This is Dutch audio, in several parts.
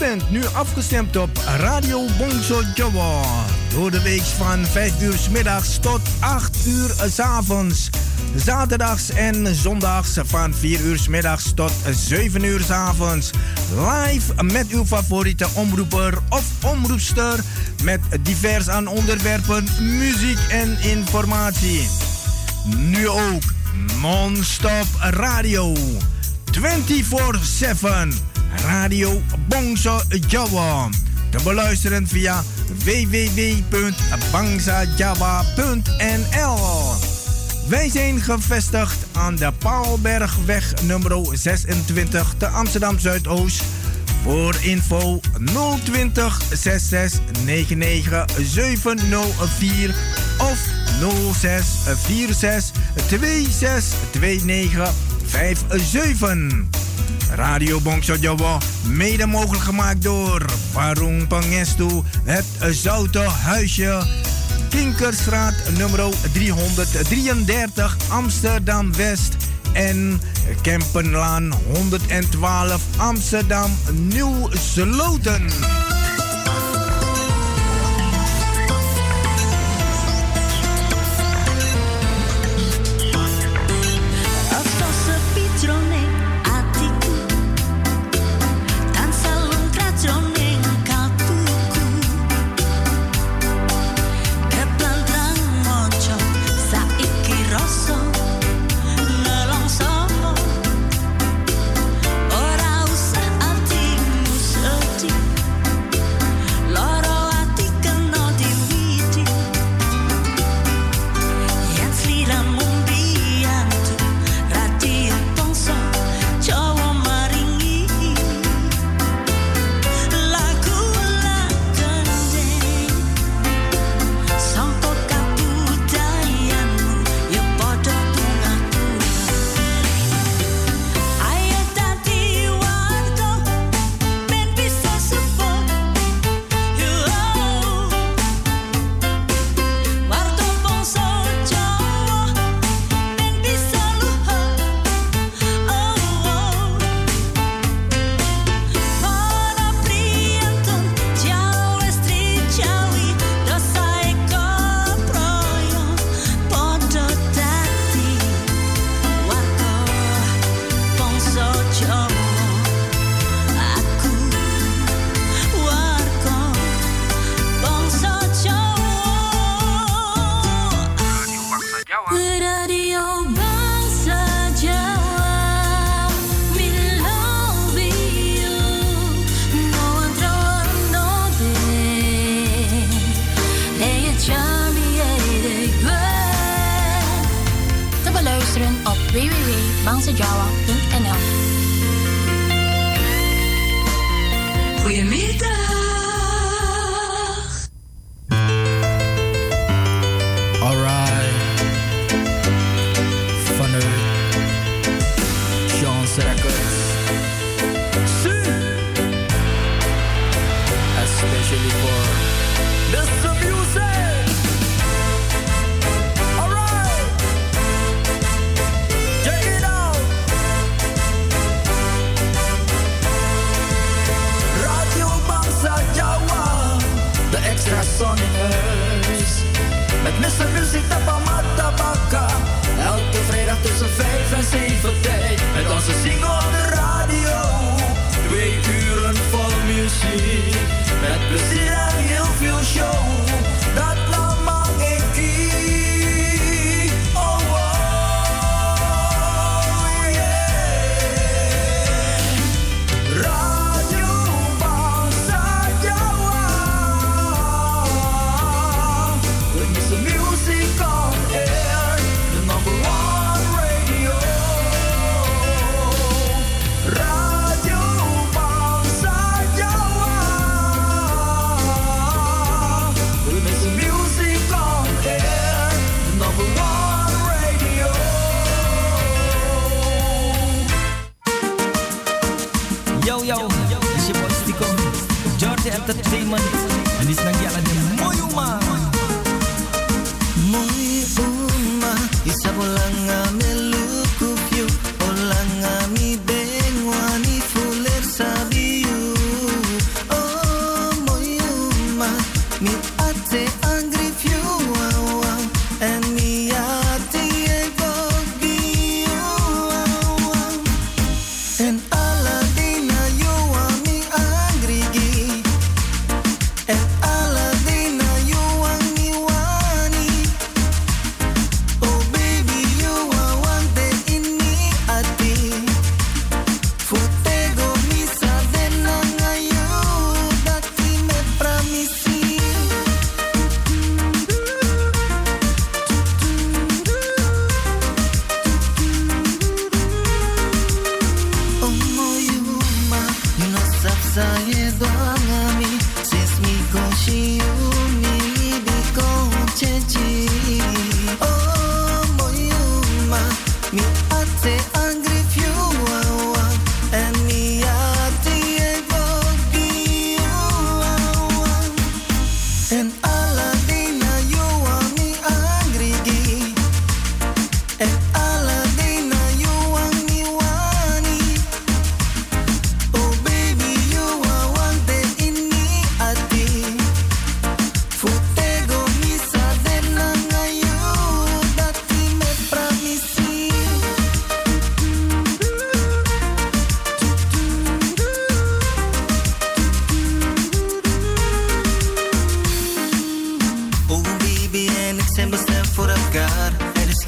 bent nu afgestemd op Radio Bongso Jowo. Door de week van 5 uur 's middags tot 8 uur 's avonds. Zaterdags en zondags van 4 uur 's middags tot 7 uur 's avonds. Live met uw favoriete omroeper of omroepster. Met divers aan onderwerpen, muziek en informatie. Nu ook non-stop radio. 24/7. Radio Bongso Jowo. Te beluisteren via www.bangsajawa.nl. Wij zijn gevestigd aan de Paalbergweg nummer 26 te Amsterdam Zuidoost. Voor info 020 66 99 704 of 06 46 26 29 57. Radio Bongso Jowo, mede mogelijk gemaakt door Warung Pangestu, het Zoute Huisje, Kinkerstraat nummer 333 Amsterdam West en Kempenlaan 112 Amsterdam Nieuw Sloten. www.bangsajawa.nl. Goedemiddag. Alright. Vanuit John's Records. Especially for this music. Alright. Check it out. Radio Bangsa Jawa. The extra sonics. Met Mr. Music Tapamata Baka. Elke vrijdag tussen 5 en 7 tijd. Met onze single op de radio. 2 uren vol muziek. Met plezier en heel veel show. Dat lama ik oh, oh, yeah. Radio Bangsa Jawa. With Mr. Music on air. The number 1 radio. Radio Bangsa Jawa. With Mr. Music on air. The number 1 radio. Yo, it's your boy Stico, Jordi Entertainment. En dit is Nagyala de Moyuma. Moyuma, isa bolanga melukupyu, bolanga mi bengwani fuler sabiu.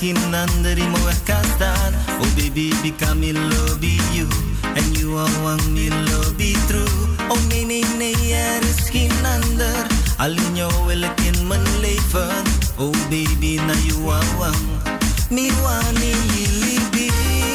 kinandari mo kastan. Oh baby, because me love you. And you are one me love be true. Oh nee, er is geen ander. Alleen jou wil ik in mijn leven. Oh baby, na you are one. Me want me be.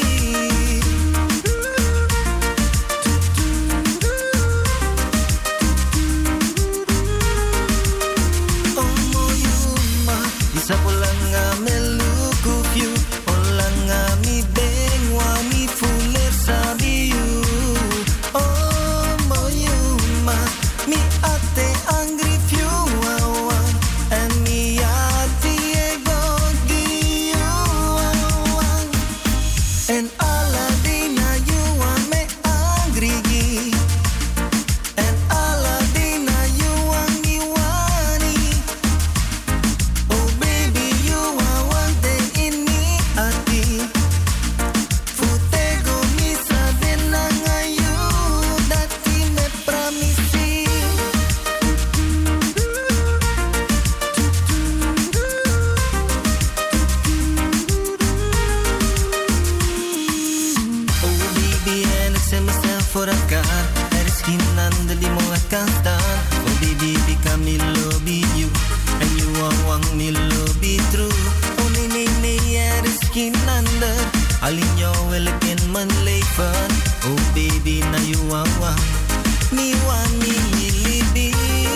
Isa po lang nga me look of you. O lang nga mi bengwa mi fuller sabi you. Oh mo you ma mi ate angry few awan. And mi ate ego gi you awan. And all of the na you want me angry gi. And all of the na you want me wani. Voor elkaar, er is geen ander die me kan staan. Oh baby, because me love you. And you are one me love be true. Oh nee, er is geen ander. Alleen jou wil ik in mijn leven. Oh baby, now you are one. Me want me be.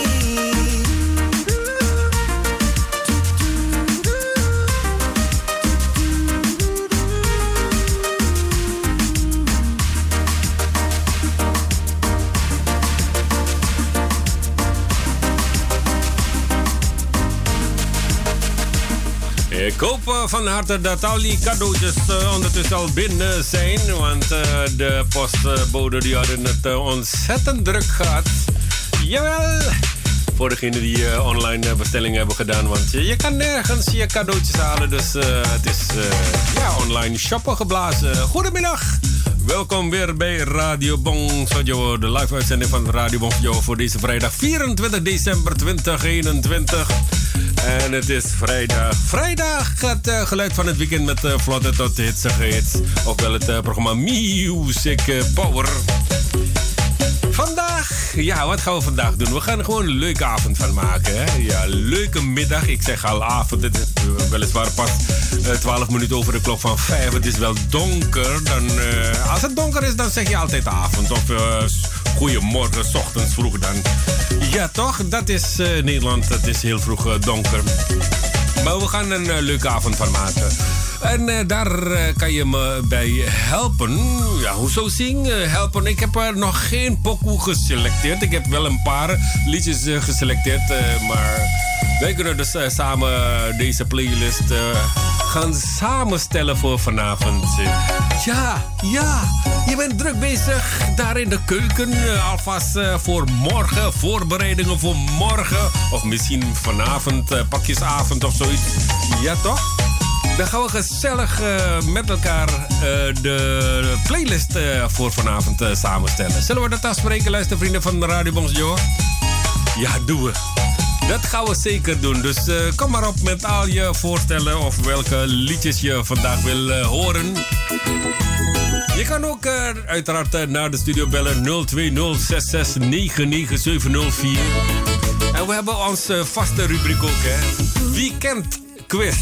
Ik hoop van harte dat al die cadeautjes ondertussen al binnen zijn. Want de postbode die hadden het ontzettend druk gehad. Jawel! Voor degenen die online bestellingen hebben gedaan. Want je kan nergens je cadeautjes halen. Dus het is online shoppen geblazen. Goedemiddag! Welkom weer bij Radio Bongsojo, de live uitzending van Radio Bongsojo voor deze vrijdag 24 december 2021. En het is vrijdag. Vrijdag het geluid van het weekend met vlotte tot hitsige hits. Ofwel het programma Music Power. Vandaag, ja, wat gaan we vandaag doen? We gaan er gewoon een leuke avond van maken. Hè? Ja, leuke middag. Ik zeg al avond. Het is weliswaar pas 12 minuten over de klok van 5. Het is wel donker. Dan, als het donker is, dan zeg je altijd avond. Of goeiemorgen, 's ochtends vroeg dan. Ja, toch? Dat is Nederland. Het is heel vroeg donker. Maar we gaan een leuke avond van maken. En daar kan je me bij helpen. Ja, hoezo helpen? Ik heb er nog geen pokoe geselecteerd. Ik heb wel een paar liedjes geselecteerd. Maar wij kunnen dus samen deze playlist gaan samenstellen voor vanavond. Ja, je bent druk bezig daar in de keuken. Alvast voor morgen, voorbereidingen voor morgen. Of misschien vanavond, pakjesavond of zoiets. Ja, toch? Dan gaan we gezellig met elkaar de playlist voor vanavond samenstellen. Zullen we dat afspreken, luistervrienden van Radio Bongsojo? Ja, doen we. Dat gaan we zeker doen. Dus kom maar op met al je voorstellen of welke liedjes je vandaag wil horen. Je kan ook uiteraard naar de studio bellen 02066999704. En we hebben onze vaste rubriek ook, hè. Weekend Quiz.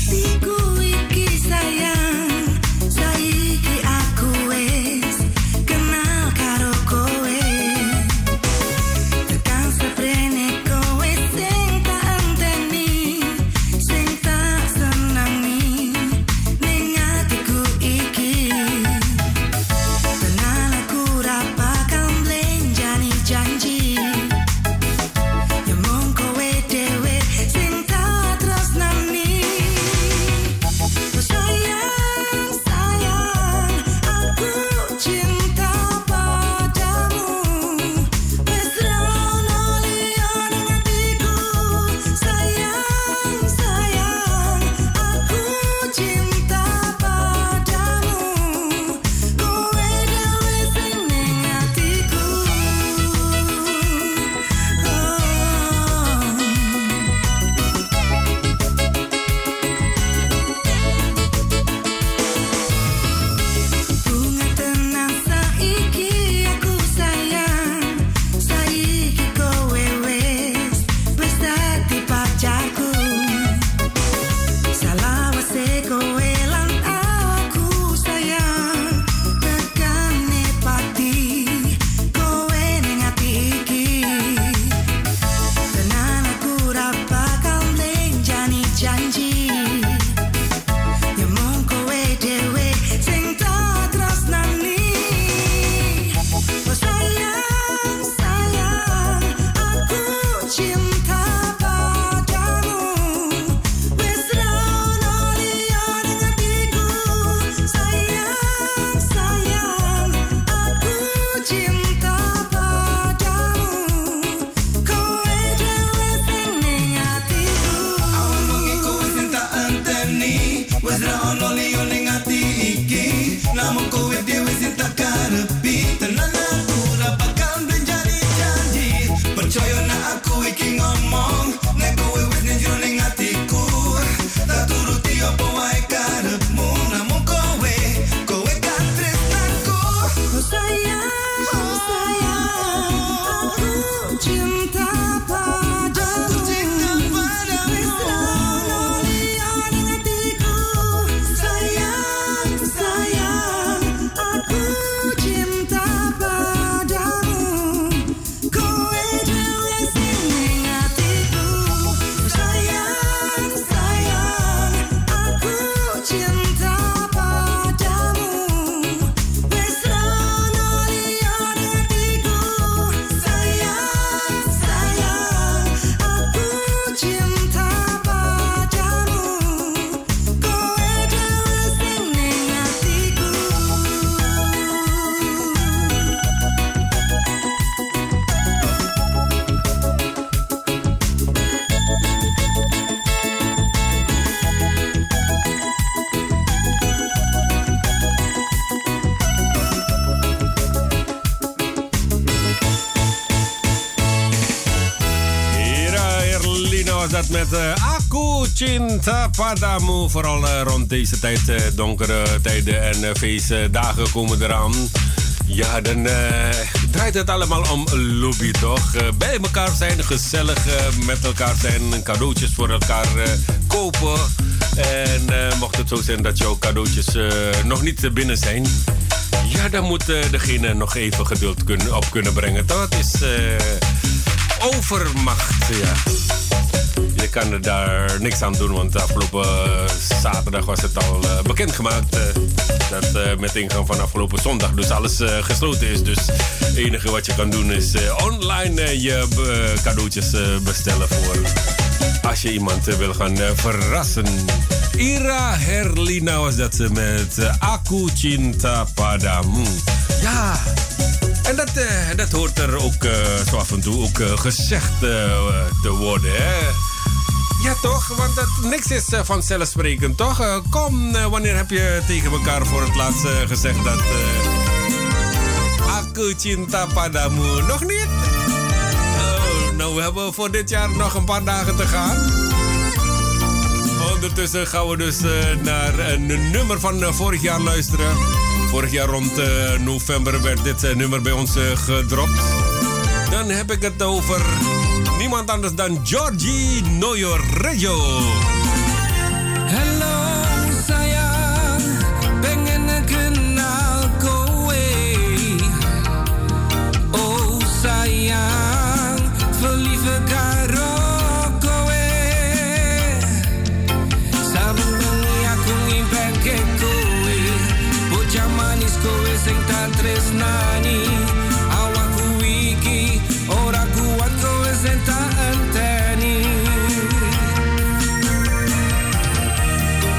Wes ra ono liyo ning ati iki. Namun kowe dhewe sing tak karepi. Tenan aku ora bakal menjadi janji. Percaya nak aku iki ngomong. Nek kowe wis ning jero ning atiku. Tak turuti apa wae karepmu. Namun kowe kan tresnaku. Oh sayang, aku cinta padamu. Met Aku Cinta Padamu. Vooral rond deze tijd, donkere tijden en feestdagen komen eraan. Ja, dan draait het allemaal om lobby, toch? Bij elkaar zijn, gezellig met elkaar zijn, cadeautjes voor elkaar kopen. En mocht het zo zijn dat jouw cadeautjes nog niet binnen zijn, ja, dan moet degene nog even geduld kunnen brengen. Dat is overmacht, ja. Je kan er daar niks aan doen, want afgelopen zaterdag was het al bekendgemaakt dat met ingang van afgelopen zondag dus alles gesloten is. Dus het enige wat je kan doen is online je cadeautjes bestellen voor als je iemand wil gaan verrassen. Ira Herlina was dat met Aku Cinta Padamu. Ja, en dat hoort er ook zo af en toe ook gezegd te worden, hè? Ja, toch? Want niks is vanzelfsprekend, toch? Kom, wanneer heb je tegen elkaar voor het laatst gezegd dat Aku Cinta Padamu? Nog niet? Oh, nou, we hebben voor dit jaar nog een paar dagen te gaan. Ondertussen gaan we dus naar een nummer van vorig jaar luisteren. Vorig jaar rond november werd dit nummer bij ons gedropt. Dan heb ik het over niemand anders dan Georgie Noyorejo. Hello sayang, pengen kenal kowe. Oh sayang, verliefd karo kowe. Saben bengi aku ngimpen ke kowe. Bocah manis kowe sing tak tresnani. Awakku iki ora kuat kowe sing tak enteni.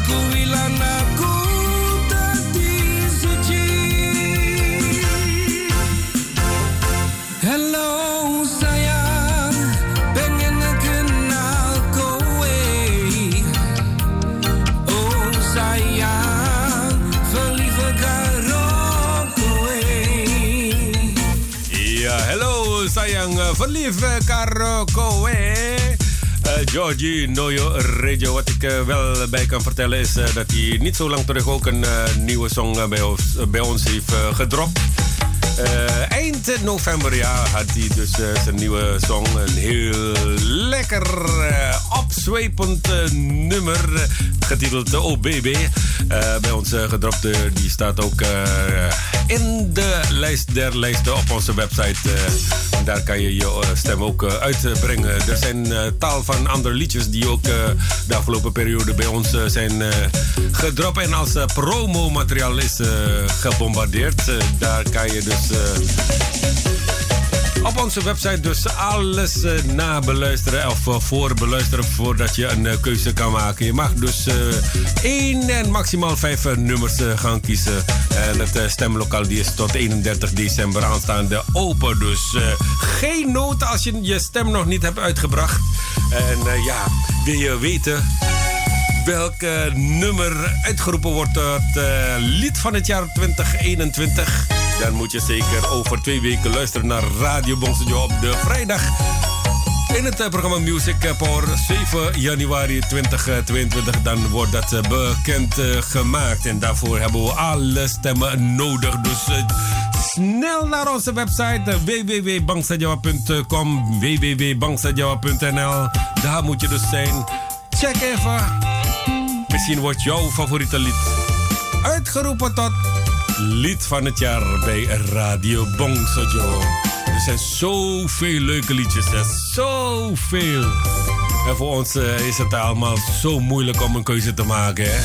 Verliefd karo kowe. Georgie Noyo Radio. Wat ik wel bij kan vertellen is dat hij niet zo lang terug ook een nieuwe song bij ons heeft gedropt. Eind november had hij dus zijn nieuwe song. Een heel lekker opzwepend nummer getiteld Oh Baby. Bij ons gedropt. Die staat ook in de lijst der lijsten op onze website. Daar kan je je stem ook uitbrengen. Er zijn tal van andere liedjes die ook de afgelopen periode bij ons zijn gedropt en als promomateriaal is gebombardeerd. Daar kan je dus op onze website dus alles nabeluisteren of voorbeluisteren voordat je een keuze kan maken. Je mag dus 1 en maximaal 5 nummers gaan kiezen. En het stemlokaal die is tot 31 december aanstaande open. Dus geen nood als je je stem nog niet hebt uitgebracht. En wil je weten welk nummer uitgeroepen wordt tot lied van het jaar 2021... dan moet je zeker over 2 weken luisteren naar Radio Bongsojo op de vrijdag. In het programma Music Power 7 januari 2022. Dan wordt dat bekend gemaakt. En daarvoor hebben we alle stemmen nodig. Dus snel naar onze website www.bangsajawa.com, www.bangsajawa.nl. Daar moet je dus zijn. Check even. Misschien wordt jouw favoriete lied uitgeroepen tot lied van het jaar bij Radio Bongsojo. Er zijn zoveel leuke liedjes, zoveel. En voor ons is het allemaal zo moeilijk om een keuze te maken, hè?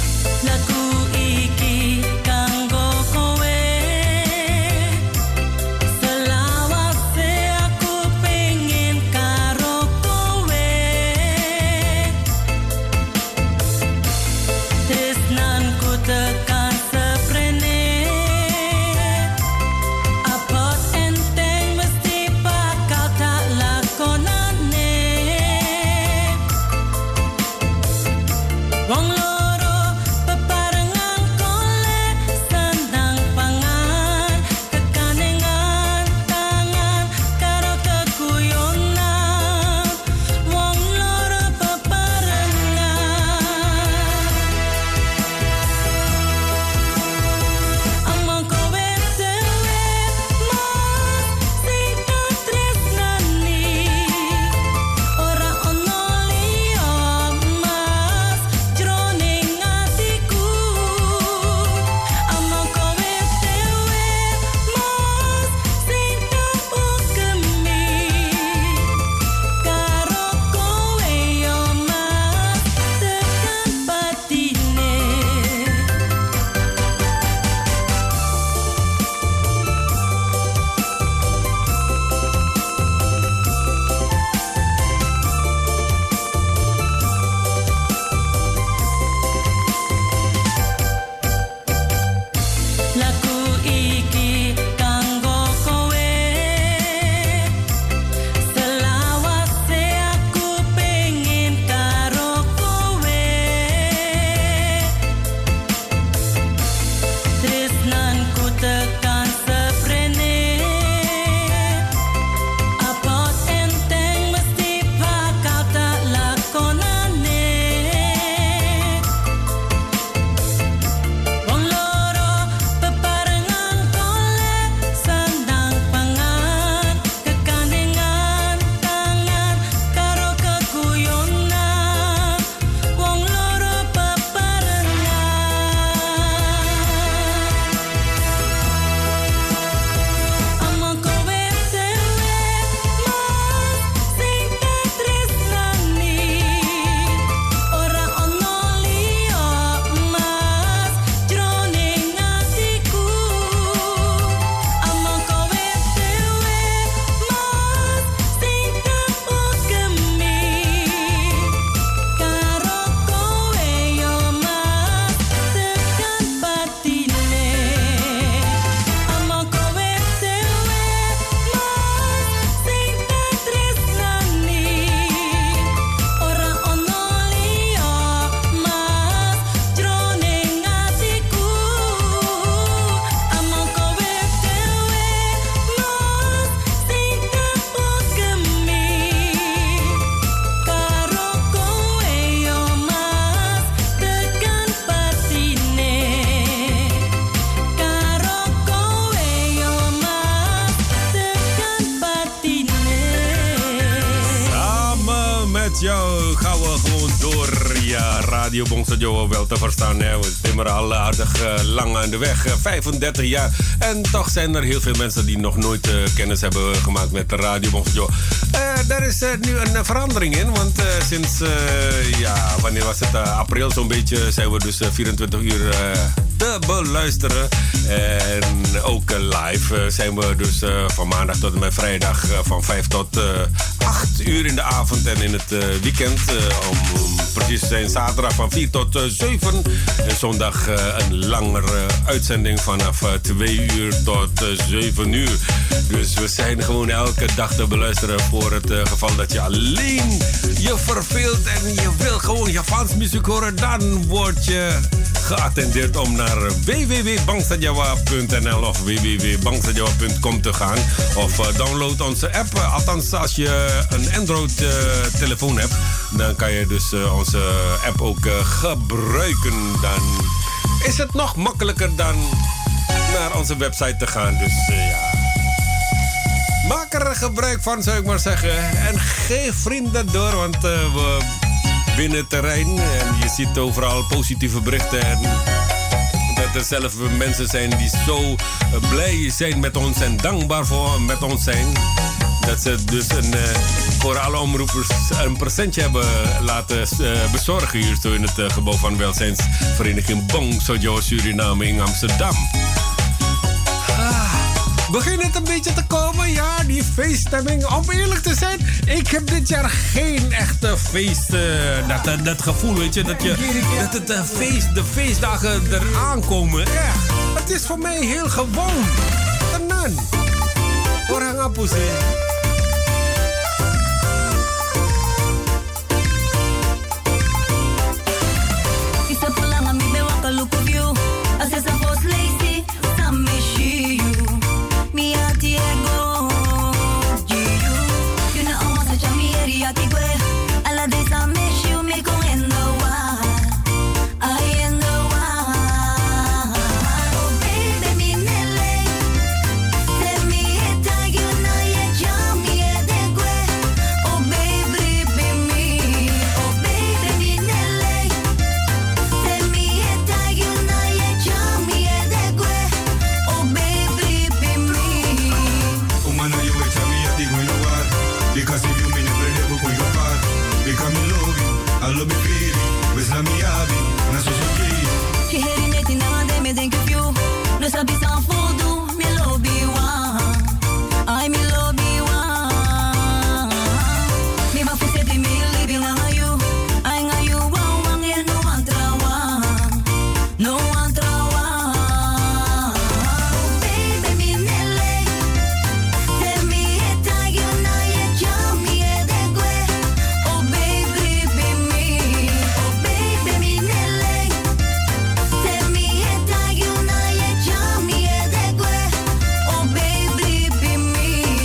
gewoon door. Ja, Radio Bongso Jowo wel te verstaan. Hè. We timmeren al aardig lang aan de weg. 35 jaar. En toch zijn er heel veel mensen die nog nooit kennis hebben gemaakt met Radio Bongso Jowo. Daar is nu een verandering in. Want sinds, wanneer was het? April zo'n beetje zijn we dus 24 uur te beluisteren. En ook live zijn we dus van maandag tot en met vrijdag van 5 tot 8 uur in de avond. En in het weekend om precies te zijn zaterdag van 4 tot 7. En zondag een langere uitzending vanaf 2 uur tot 7 uur. Dus we zijn gewoon elke dag te beluisteren voor het geval dat je alleen je verveelt en je wil gewoon Javaans muziek horen. Dan word je geattendeerd om naar www.bangsajawa.nl of www.bangsajawa.com te gaan. Of download onze app. Althans, als je een Android-telefoon hebt, dan kan je dus onze app ook gebruiken. Dan is het nog makkelijker dan naar onze website te gaan. Dus ja. Maak er gebruik van, zou ik maar zeggen. En geef vrienden door, want we winnen terrein. En je ziet overal positieve berichten. En dat er zelf mensen zijn die zo blij zijn met ons en dankbaar voor met ons zijn. Dat ze dus voor alle omroepers een presentje hebben laten bezorgen hier zo in het gebouw van welzijnsvereniging Bongso Jowo Suriname in Amsterdam. Begint het een beetje te komen, ja, die feeststemming. Om eerlijk te zijn, ik heb dit jaar geen echte feest. Dat gevoel, weet je, dat het de feestdagen eraan komen. Echt, het is voor mij heel gewoon. Tenan. Orang apa sih? Isa pulang ambil bewa ke look of you. Asesa post lazy, some issue you. Mi ati ego, you. You know almost such a mi area tigwe. Ala de some issue me con endo wa. I endo wa. Oh baby mi nele. Tell me it you know you jam me edegwe. Oh baby be me. Oh baby mi nele. Tell me it you know you jam me edegwe. Oh baby be me. Umana you wait me at the window war. Because if you mean it very good for your part. Because me love you, I love me feeling. With me happy, na so so key. She heading it in a day me think of you. No sabi sa fodo, me love you one. I me love you one. Me ba fuse di me living on you. I nga you one and no one trawa. No one trawa. Oh baby me nele. Tell me it you know you jam me edegwe. Oh baby be me. Oh baby me nele. Tell me it you know you jam me edegwe. Oh baby be me.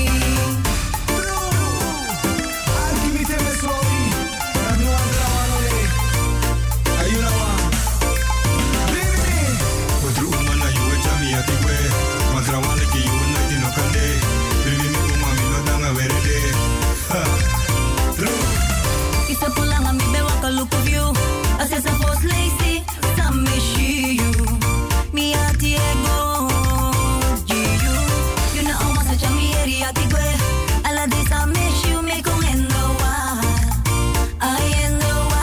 Give me sorry. I know I'm wrong. Are you now? Baby, what do umana you wait me at the way? Matrawale ki you na dino kande. Baby me umami no danga verede. True. Isa pulang ambil bewa ke look of you. Asesa post lazy, some issue you. Mi ati ego, you. You know almost such a mi area tigwe. Ala de some issue me con endo wa. I endo wa.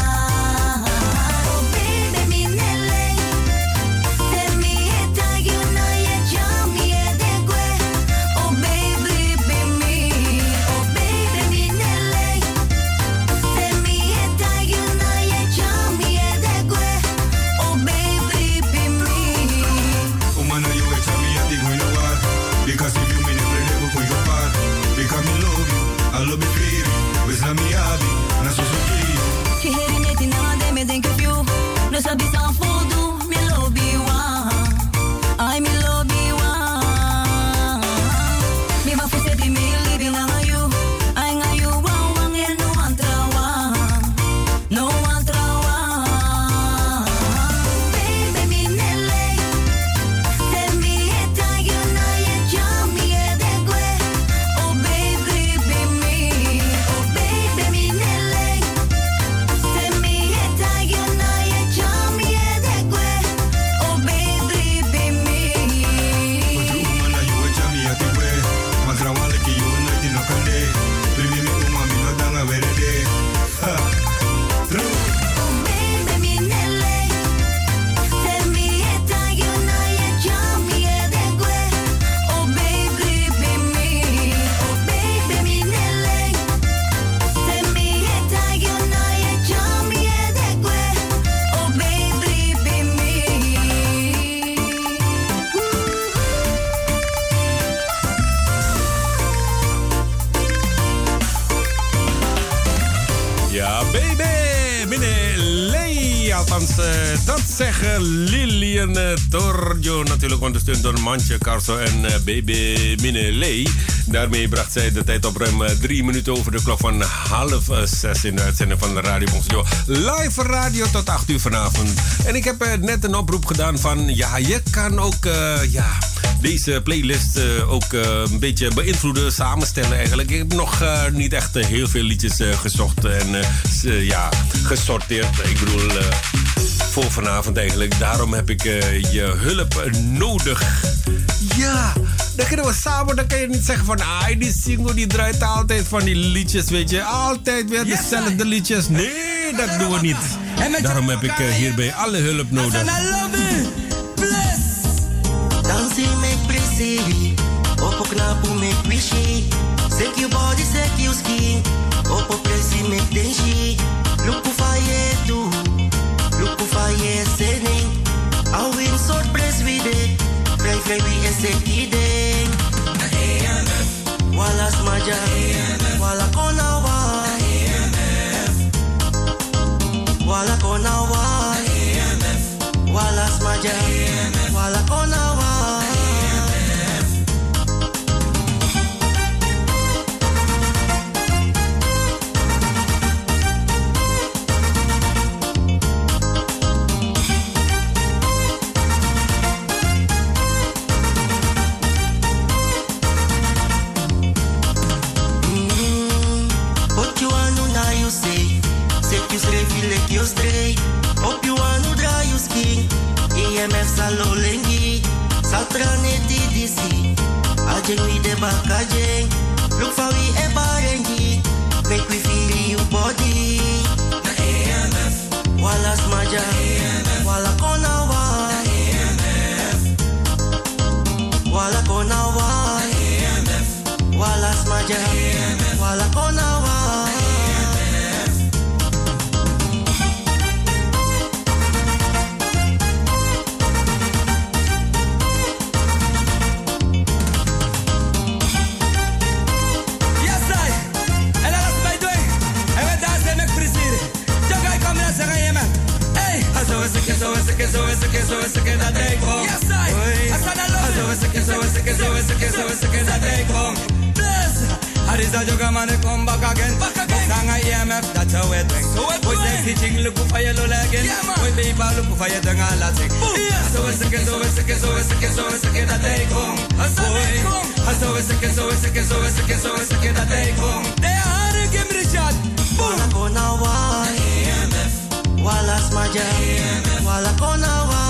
Oh baby mi nele. Tell me it you know you jam me edegwe. Oh baby be me. Oh baby mi nele. Tell me it you know you jam me edegwe. Oh baby be me. Umana you wait me at the window war. Because if you mean it very good for your part. Because me love you, I love me feeling. With me happy, na so so key. She heading it in a day me think of you. No sabi sa fodo, me love you one. I me love you one. Me ba fuse di me living on you. I nga you one and no one trawa. No one trawa. Baby me nele. Tell me it you know you jam me edegwe. Oh baby be me. Oh baby me nele. Nederlands. Dat zeggen Lilian Torjo, natuurlijk ondersteund door Mantje Carso en Baby Mineley. Daarmee bracht zij de tijd op ruim 3 minuten over de klok van 5:30 in de uitzending van de Radio Bongso. Live radio tot 8 uur vanavond. En ik heb net een oproep gedaan van, ja, je kan ook, deze playlist ook een beetje beïnvloeden, samenstellen eigenlijk. Ik heb nog niet echt heel veel liedjes gezocht en gesorteerd. Ik bedoel, voor vanavond eigenlijk. Daarom heb ik je hulp nodig. Ja, dan kunnen we samen, dan kan je niet zeggen van, die single die draait altijd van die liedjes, weet je. Altijd weer dezelfde liedjes. Nee, dat doen we niet. Daarom heb ik hierbij alle hulp nodig. Dansi make pretty, opo knapu make wishy. Shake your body, shake your skin. Opo presi make denshi. Look hoe faye do, look hoe faye sening. I'll win sort press with it. Pray we SAT ding. Wala smaja, wala konawa. Wala konawa. Wala smaja, wala konawa. You stray, op you anu dra you skin. EMF salolengi, saltrane TDC. Ajeng we de bakajeng, look for we e barengi. Make we feel you body. Na EMF, wala smaja, wala konawa. Na EMF, wala konawa. EMF, wala smaja, wala konawa. Dat deed gewoon. Yes, I. Asana dat deed gewoon. Bless. Harisa joga mane come back again. Sanga EMF, that's how it thing. We say teaching look for your again. We be ba look for your thing all that. So it's that deed gewoon. So that deed gewoon. They are give me the shot. Wala konawa. EMF. Wala smaja. Wala konawa.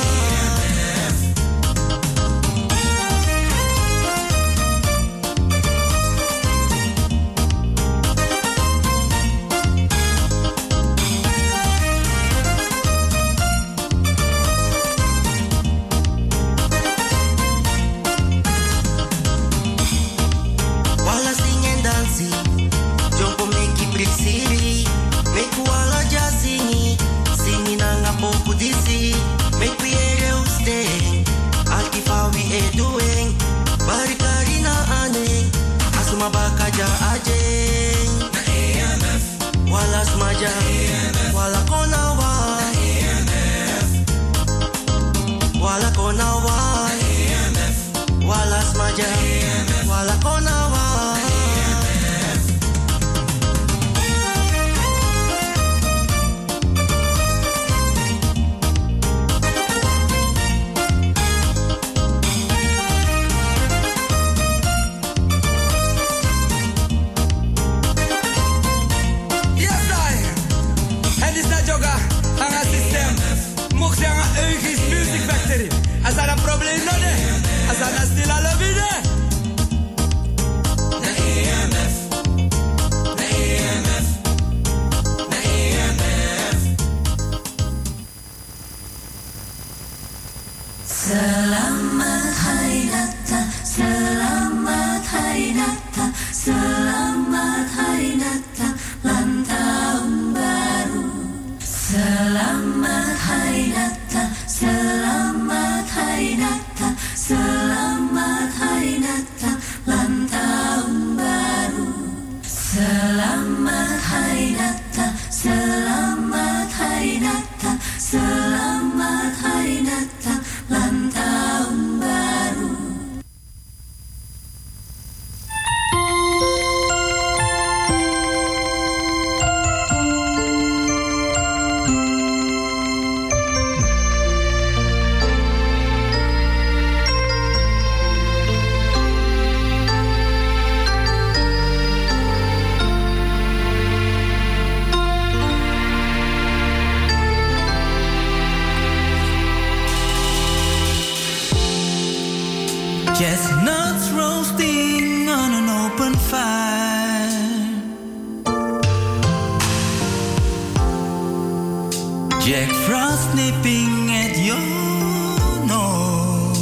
Wala konawa. Wala konawa. Wala smaja. Wala konawa. Als dat een probleem nog is, als dat een stil alle binnen. De EMF, de EMF, de EMF. Selamat Hari Nata, Selamat Hari Nata, Selamat Hari Nata, Ulang Tahun Baru. Selamat Hari Nata, Selamat Hari Nata, Selamat Hari Nata, Ulang Tahun Baru. Selamat Hari Nata, Selamat Hari Nata, Chestnuts roasting on an open fire. Jack Frost nipping at your nose.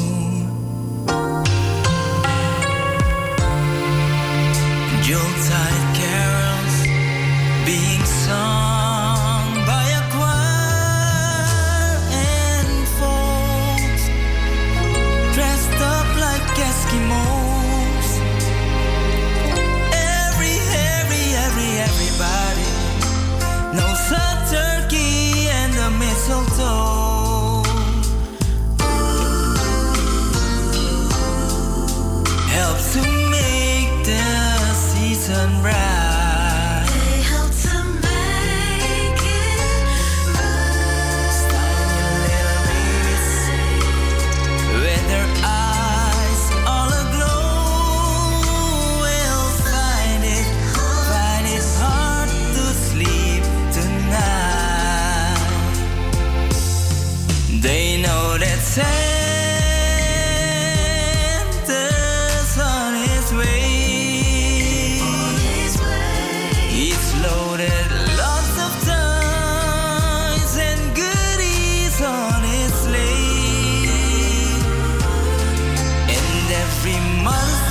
Yuletide carols being sung by a choir and folks dressed up like Eskimos. Everybody knows a turkey and the mistletoe helps to make the season bright. They help to make it bright. Tiny little babies with their eyes all aglow will find it hard to sleep tonight. They know that Santa's on his way. He's loaded lots of toys and goodies on his sleigh. And every month's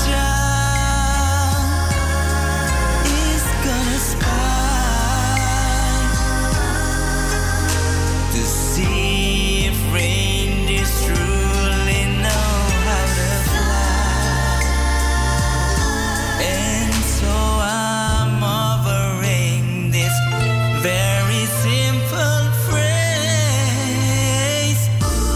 child is gonna spy to see if reindeers truly know how to fly. And so I'm offering this very simple phrase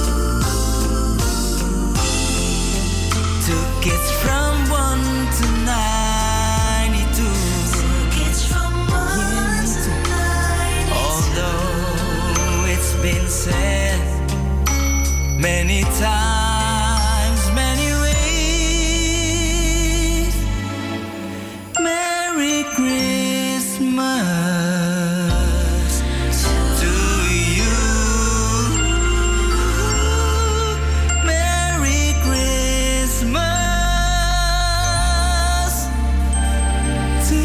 to kids from 1 to 92. Kids from 1 to 9. Although it's been said many times, many ways, Merry Christmas to you. Merry Christmas to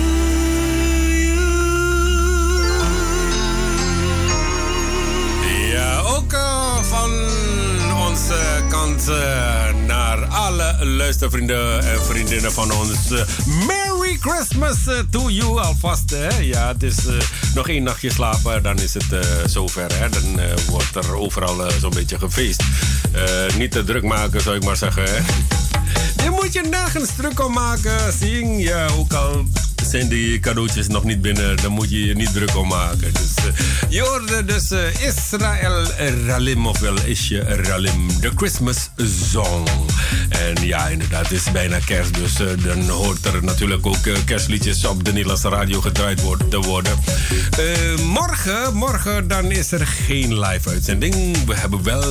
you. Ja, ook van onze kant naar alle luistervrienden en vriendinnen van ons. Merry Christmas to you alvast. Hè? Ja, het is nog 1 nachtje slapen, dan is het zover. Hè? Dan wordt er overal zo'n beetje gefeest. Niet te druk maken, zou ik maar zeggen. Hè? Je moet je nergens druk om maken. Zing, ja, ook al zijn die cadeautjes nog niet binnen, dan moet je je niet druk om maken. Dus je hoorde dus Israël Ralim, ofwel Isje Ralim, de Christmas Song. En ja, inderdaad, het is bijna kerst, dus dan hoort er natuurlijk ook kerstliedjes op de Nederlandse radio gedraaid te worden. Morgen dan is er geen live uitzending. We hebben wel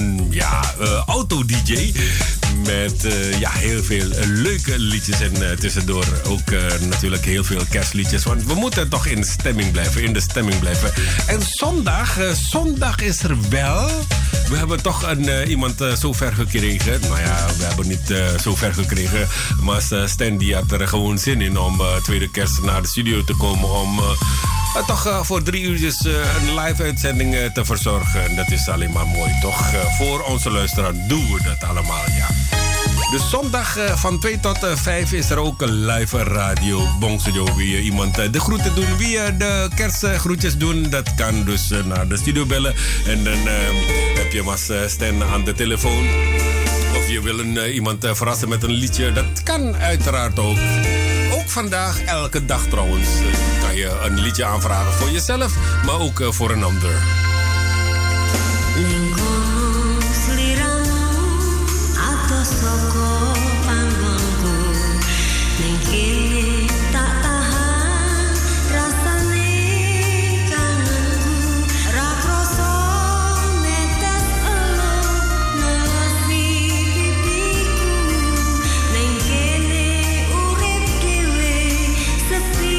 auto-dj met heel veel leuke liedjes en tussendoor ook natuurlijk heel veel kerstliedjes. Want we moeten toch in de stemming blijven. En zondag is er wel. We hebben toch iemand zover gekregen. Nou ja, we hebben niet zover gekregen. Maar Stan die had er gewoon zin in om tweede kerst naar de studio te komen om toch voor 3 uurtjes een live uitzending te verzorgen. En dat is alleen maar mooi, toch? Voor onze luisteraar doen we dat allemaal, ja. Dus zondag van 2 tot 5 is er ook een live radio Bongstudio. Wie je iemand de groeten doen, wie je de kerstgroetjes doen, dat kan dus naar de studio bellen. En dan heb je maar Stan aan de telefoon. Of je wil iemand verrassen met een liedje, dat kan uiteraard ook. Ook vandaag, elke dag trouwens, kan je een liedje aanvragen voor jezelf, maar ook voor een ander. Soko panggungku ning kene tak tahan rasane kangenku ra krasa netes elo nasi pipiku ning kene urip dhewe sepi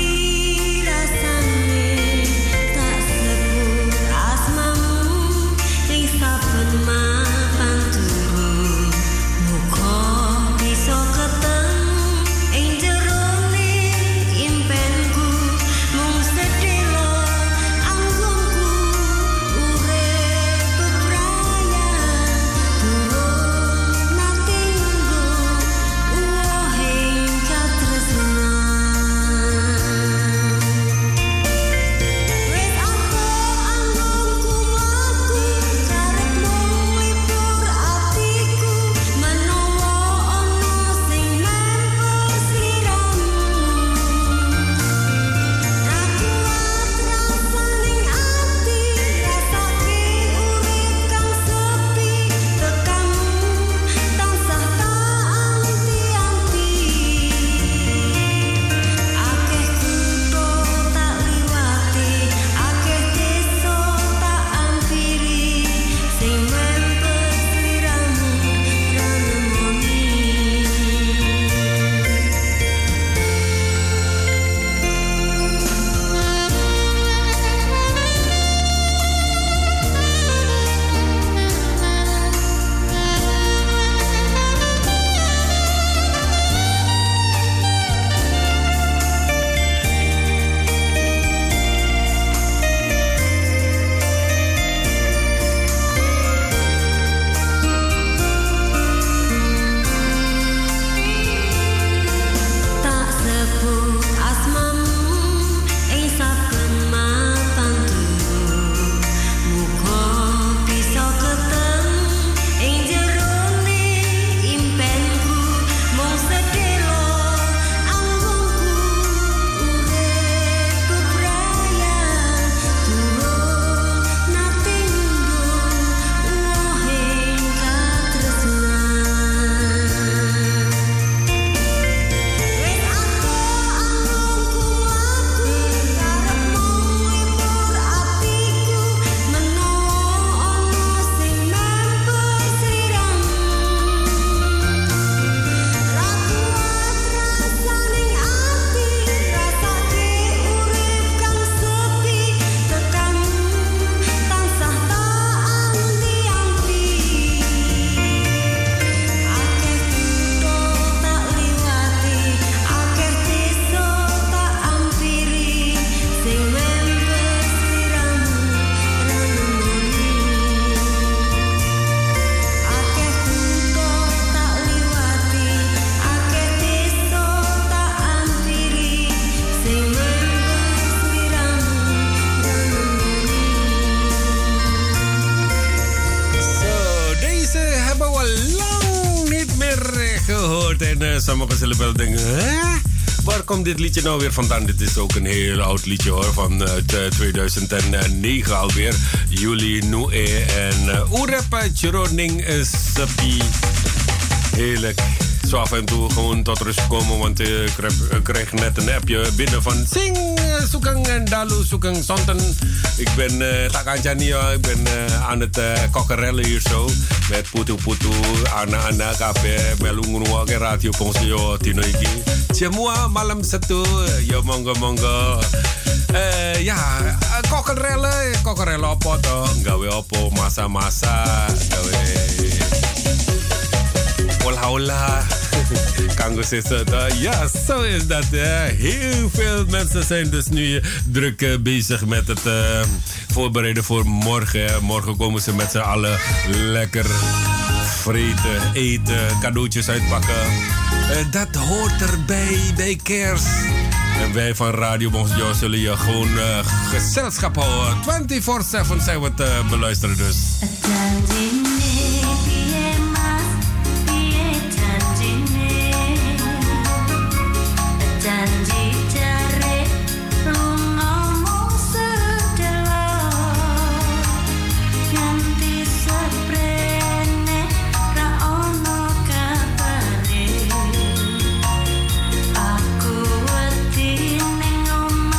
rasane tak sebut asmamu ning we lang niet meer gehoord. En sommigen zullen wel denken, hè? Waar komt dit liedje nou weer vandaan? Dit is ook een heel oud liedje hoor, van 2009 alweer. Juli Noe en Oerep Jeroning Sepi. Heerlijk. Zo af en toe gewoon tot rust komen, want ik kreeg net een appje binnen van Sing, Soekang en Dalu, Soekang Sonten. Ik ben Takanjania, ik ben aan het kokkerellen hier zo. Met Putu Putu, Ana Kape, Melungunua, Radio Ponsio, Tinoiki. Semua malam satu, yo monggo. Ja, kokkerellen opo toh, gawe opo, masa-masa, gawe hola. Kango ja, zo is dat. Heel veel mensen zijn dus nu druk bezig met het voorbereiden voor morgen. Morgen komen ze met z'n allen lekker vreten, eten, cadeautjes uitpakken. Dat hoort erbij bij kerst. En wij van Radio Bongso zullen je gewoon gezelschap houden. 24/7 zijn we het beluisteren dus.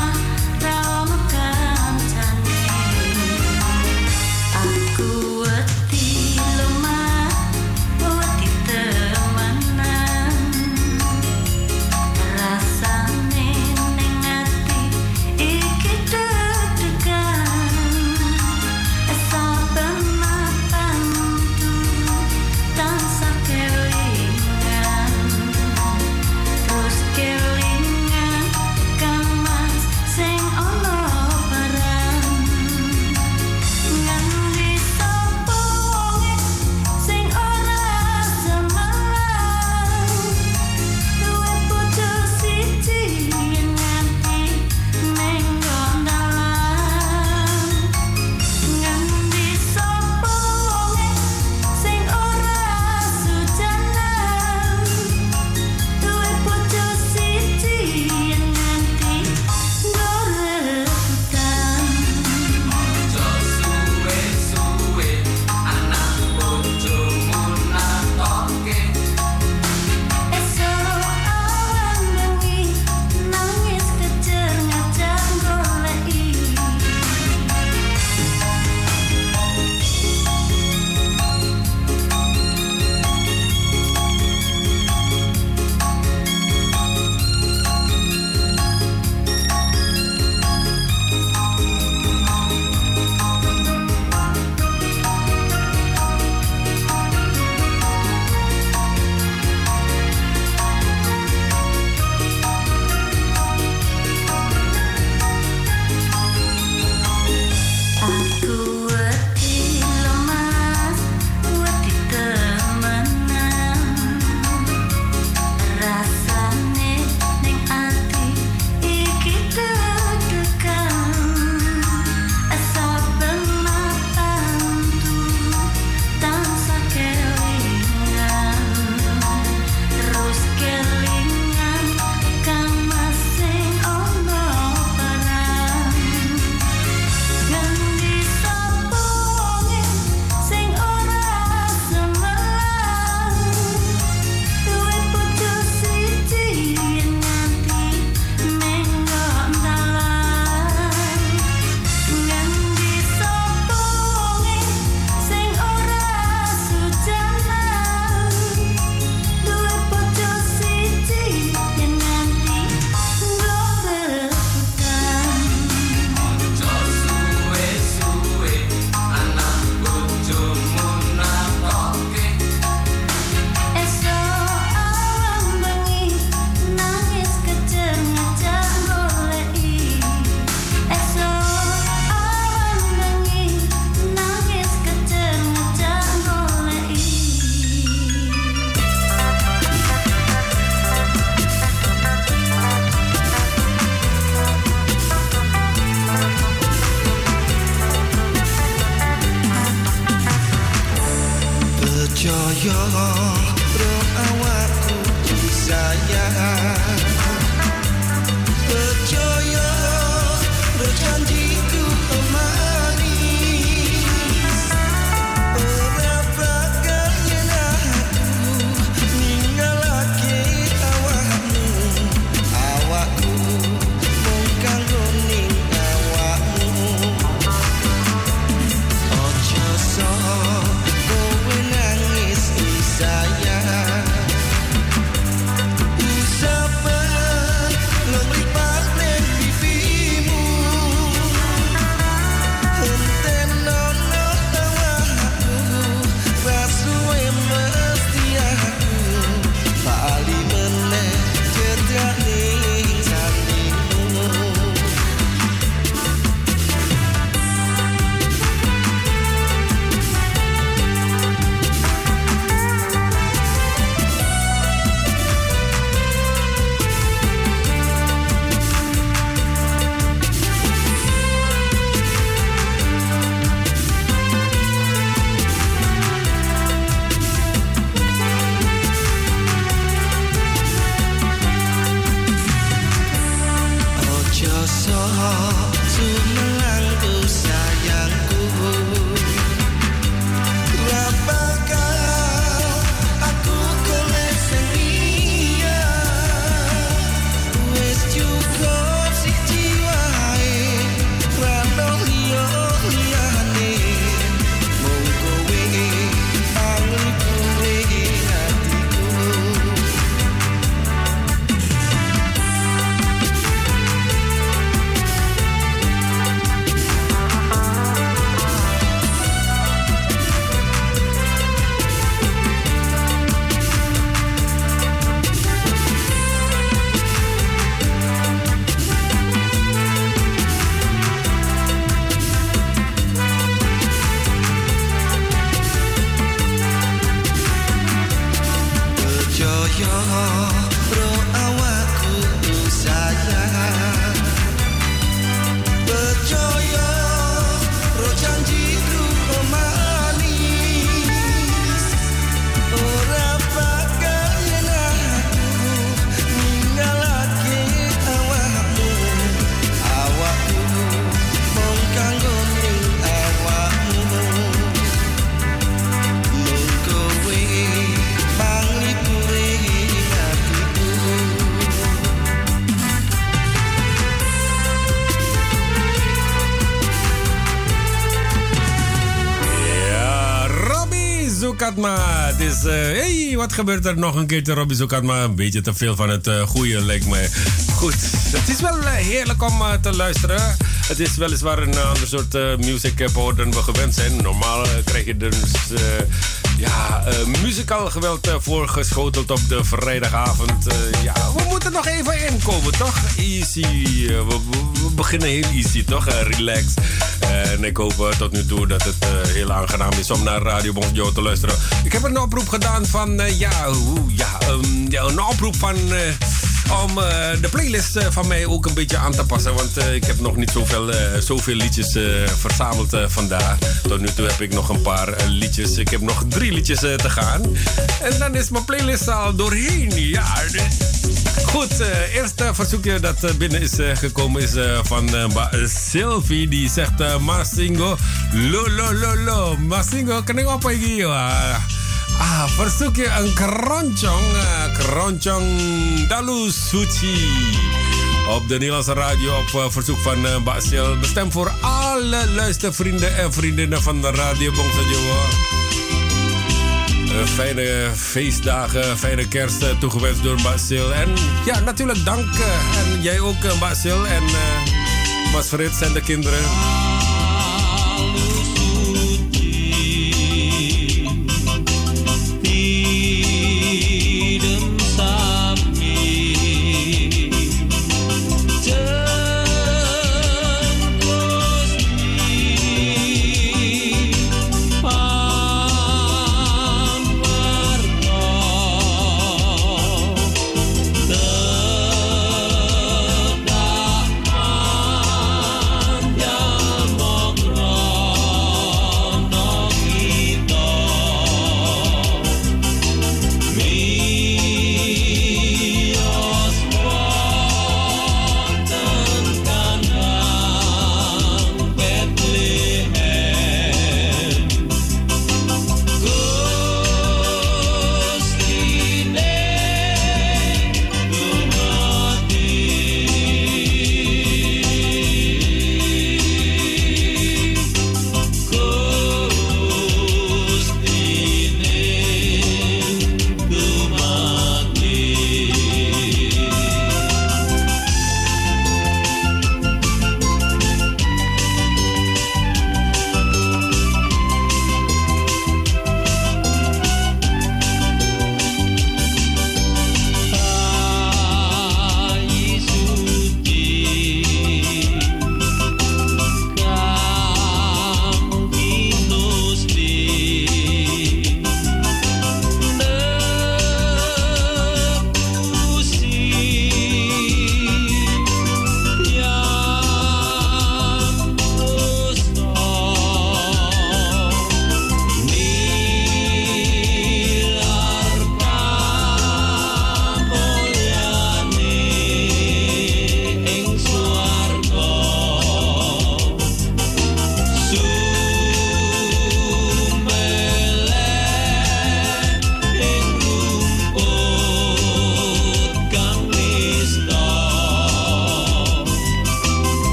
Aku Percaya roh awakku sayang, percaya roh janjiku manis. Ora bakal yen aku ninggalake awakmu, awakku mung kanggo ning awakmu. Ojo sok kowe nangis sayang, usapan lelipat ning pipimu. Enten nono awakku, rasuwe mesti aku bali meneh cedak ning janjimu. Ojo sok sumelangku sayangku, ora bakal aku golek sing liya. Wis cukup siji wae, ora ono liya-liyane. Mung kowe panglipure hatiku. Percaya roh awakku sayang, percaya roh janjiku manis. Ora bakal yen aku ninggalake awakmu, awakku mung kanggo ning awakmu. Mung kowe panglipure hatiku. Ja, Robbie Zoekatma. Het is, hey, wat gebeurt er nog een keertje, Robbie Zoekatma? Een beetje te veel van het goede, lijkt me. Goed, het is wel heerlijk om te luisteren. Het is weliswaar een ander soort music power dan we gewend zijn. Normaal krijg je dus muzikaal geweld voorgeschoteld op de vrijdagavond. We moeten nog even inkomen, toch? Easy. We beginnen heel easy, toch? Relax. En ik hoop tot nu toe dat het heel aangenaam is om naar Radio Bonjour te luisteren. Ik heb een oproep gedaan van... een oproep van... om de playlist van mij ook een beetje aan te passen. Want ik heb nog niet zoveel liedjes verzameld vandaag. Tot nu toe heb ik nog een paar liedjes. Ik heb nog 3 liedjes te gaan. En dan is mijn playlist al doorheen. Ja, goed, eerste verzoekje dat binnen is gekomen is van Sylvie. Die zegt Masingo, lo. Masingo, kan ik oppakken? Verzoekje een kronchong dalu suci op de Nederlandse radio op verzoek van Basil. Bestemd voor alle luistervrienden en vriendinnen van de Radio Bongsojowo. Fijne feestdagen, fijne kerst toegewenst door Basil. En ja, natuurlijk dank. En jij ook, Basil en Mas Frits en de kinderen. Down.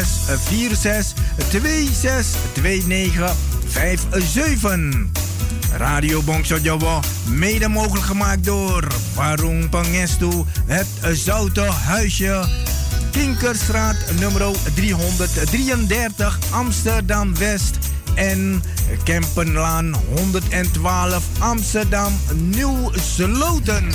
+46 26 29 57. Radio Bongso Jowo, mede mogelijk gemaakt door Warung Pangestu, het Zoute Huisje, Kinkerstraat nummer 333 Amsterdam West en Kempenlaan 112 Amsterdam Nieuw Sloten.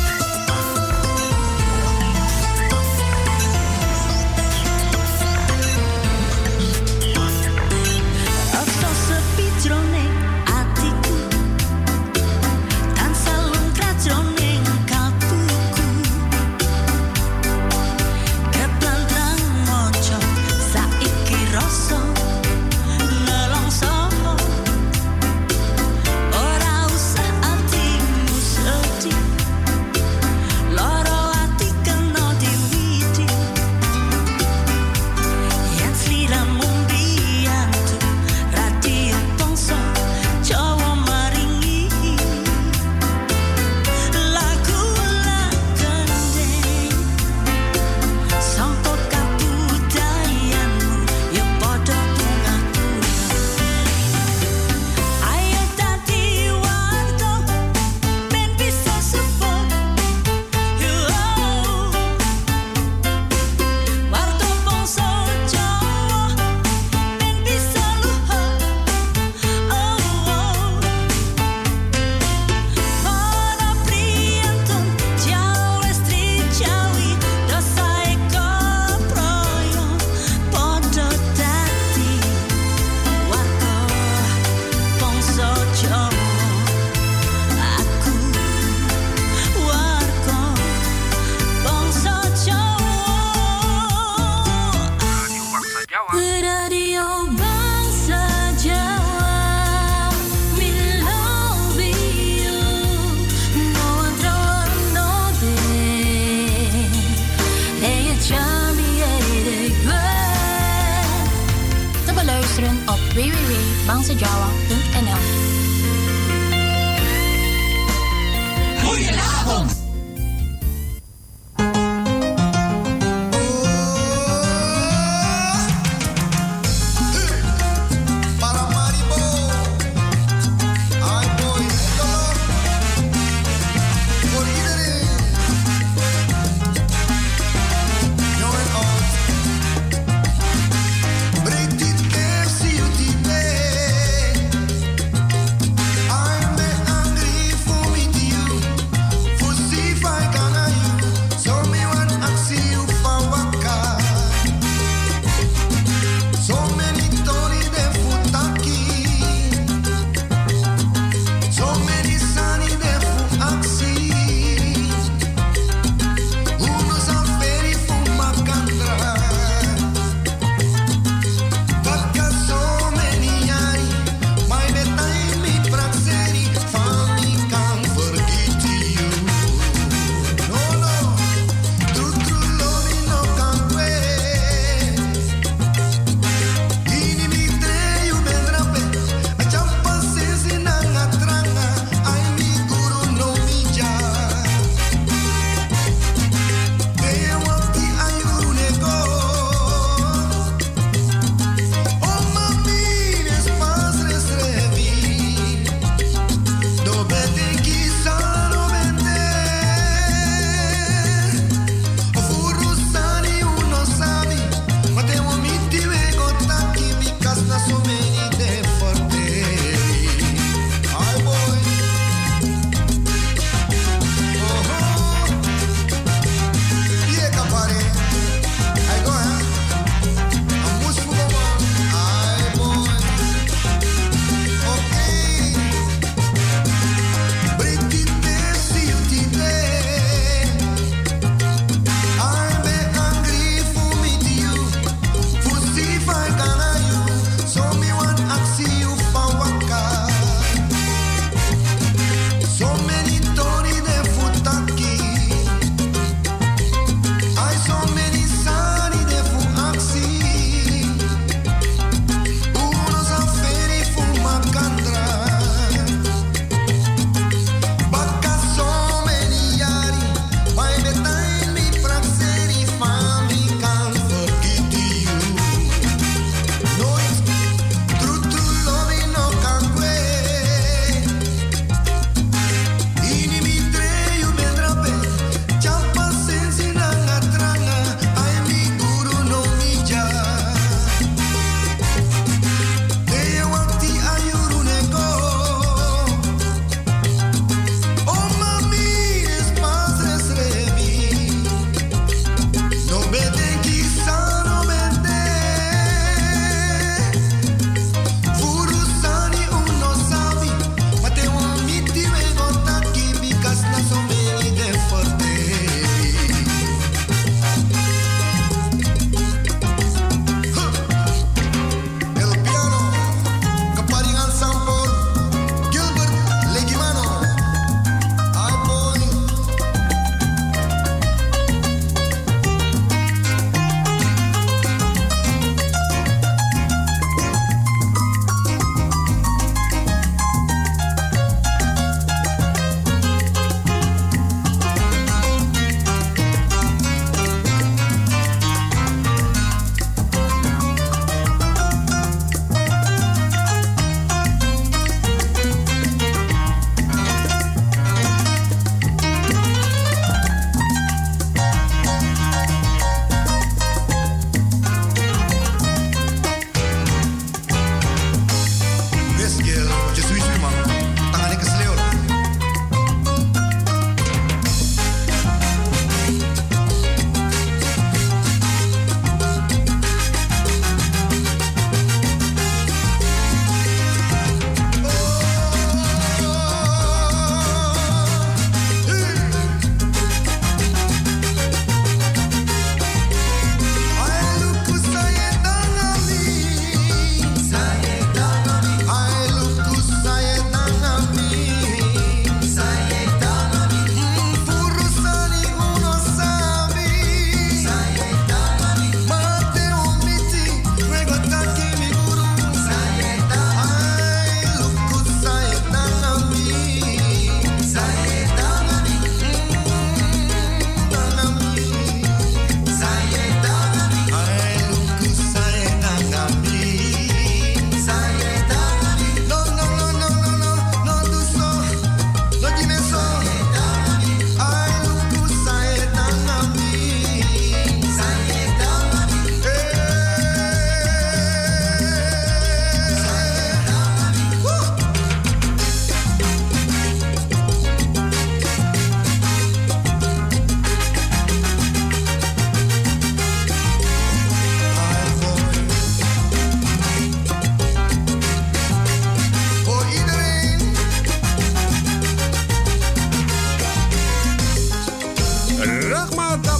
www.bangsajawa.nl. Goedenavond! See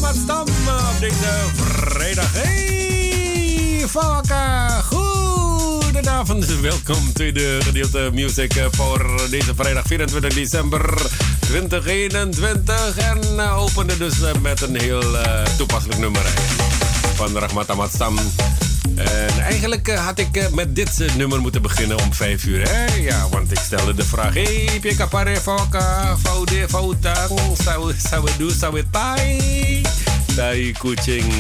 Ahmad Stam op deze vrijdag. Hey, Fawaka. Goedenavond. Welkom bij de gedeelte Music voor deze vrijdag 24 december 2021. En opende dus met een heel toepasselijk nummer van Rahmat Ahmad Stam. En eigenlijk had ik met dit nummer moeten beginnen om 5 uur. Hè? Ja, want ik stelde de vraag: hey, Pika Pare Foka, Faude, Fautang, Sawedu, Sawetai, Tai Kuching.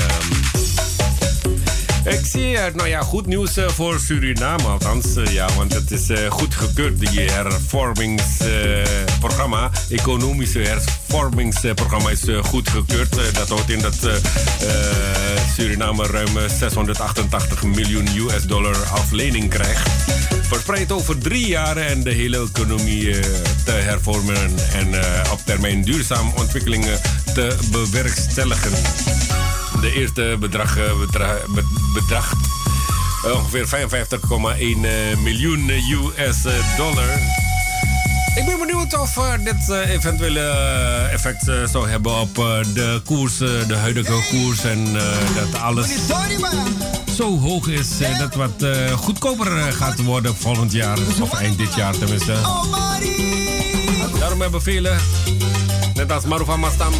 Ik zie, nou ja, goed nieuws voor Suriname althans. Ja, want het is goedgekeurd, die hervormingsprogramma. Economische hervormingsprogramma is goedgekeurd. Dat houdt in dat Suriname ruim $688 miljoen als lening krijgt. Verspreid over 3 jaar en de hele economie te hervormen en op termijn duurzame ontwikkelingen te bewerkstelligen. De eerste bedragt ongeveer $55,1 miljoen. Ik ben benieuwd of dit eventuele effect zou hebben op de koers, de huidige koers. En dat alles zo hoog is dat wat goedkoper gaat worden volgend jaar. Of eind dit jaar tenminste. Daarom hebben velen, net als Maruf Ahmad Stam,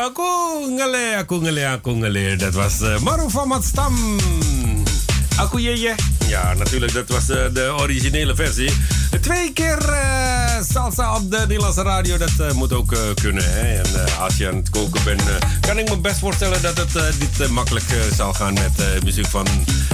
Aku ngele. Dat was Maru van Matstam. Aku Jeje. Ja, natuurlijk, dat was de originele versie. 2 keer salsa op de Nederlandse radio, dat moet ook kunnen. Hè? En als je aan het koken bent, kan ik me best voorstellen dat het niet makkelijk zal gaan met muziek van...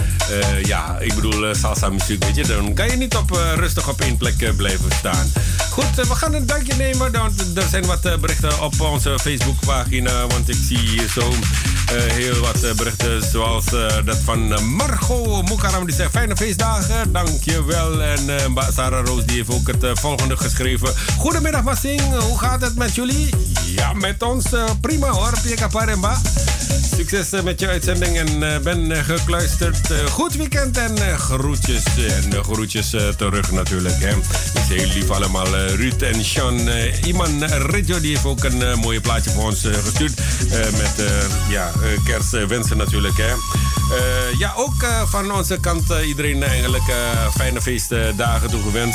ik bedoel salsa muziek, weet je. Dan kan je niet rustig op één plek blijven staan. Goed, we gaan een duikje nemen. Er zijn wat berichten op onze Facebookpagina. Want ik zie hier zo heel wat berichten. Zoals dat van Margot Moekaram. Die zegt fijne feestdagen. Dankjewel. En Sarah Roos die heeft ook het volgende geschreven. Goedemiddag Massing. Hoe gaat het met jullie? Ja, met ons prima hoor. Pika Paremba. Succes met je uitzending en ben gekluisterd. Goed weekend en groetjes. En groetjes terug natuurlijk. Hè. Het is heel lief allemaal. Ruud en Sean. Iman Reggio die heeft ook een mooie plaatje voor ons gestuurd. Met kerstwensen natuurlijk. Hè. Ook van onze kant iedereen eigenlijk fijne feestdagen toegewenst.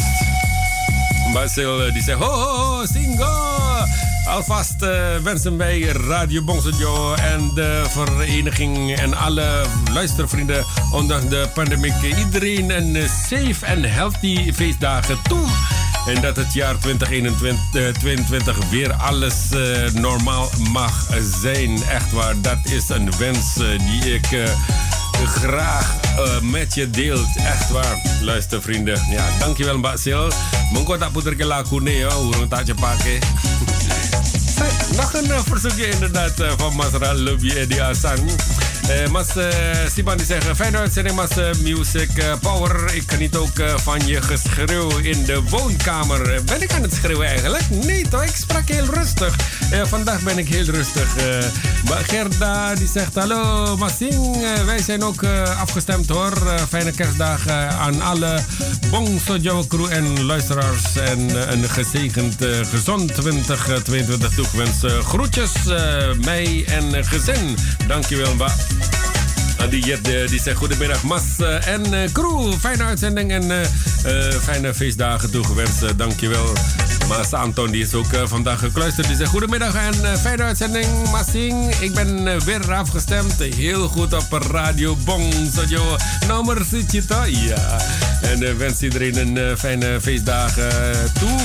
Basil die zegt ho, singo. Alvast wensen wij Radio Bongsojo en de vereniging en alle luistervrienden ondanks de pandemie iedereen een safe en healthy feestdagen toe. En dat het jaar 2022 weer alles normaal mag zijn. Echt waar, dat is een wens die ik graag met je deelt. Echt waar, luistervrienden. Ja, dankjewel Mbak Sil. Mengko tak puter ke lagu nee, urung tak cepake. Nog een verzoekje inderdaad van Mas Ralubie Edi Hasan. Mas Siban die zegt, fijne uitzending Mas Music Power. Ik geniet ook van je geschreeuw in de woonkamer. Ben ik aan het schreeuwen eigenlijk? Nee toch, ik sprak heel rustig. Vandaag ben ik heel rustig. Gerda die zegt, hallo Massing. Wij zijn ook afgestemd hoor. Fijne kerstdagen aan alle Bongsojo crew en luisteraars. En een gezegend gezond 2022 toegewenst. Groetjes mij en gezin. Dankjewel Mba. Die zegt goedemiddag Mas en crew. Fijne uitzending en fijne feestdagen toegewenst. Dankjewel. Mas Anton die is ook vandaag gekluisterd. Die zegt goedemiddag en fijne uitzending Massing. Ik ben weer afgestemd. Heel goed op Radio Bongsojo. Nummer Suchito. Ja. En wens iedereen een fijne feestdagen toe.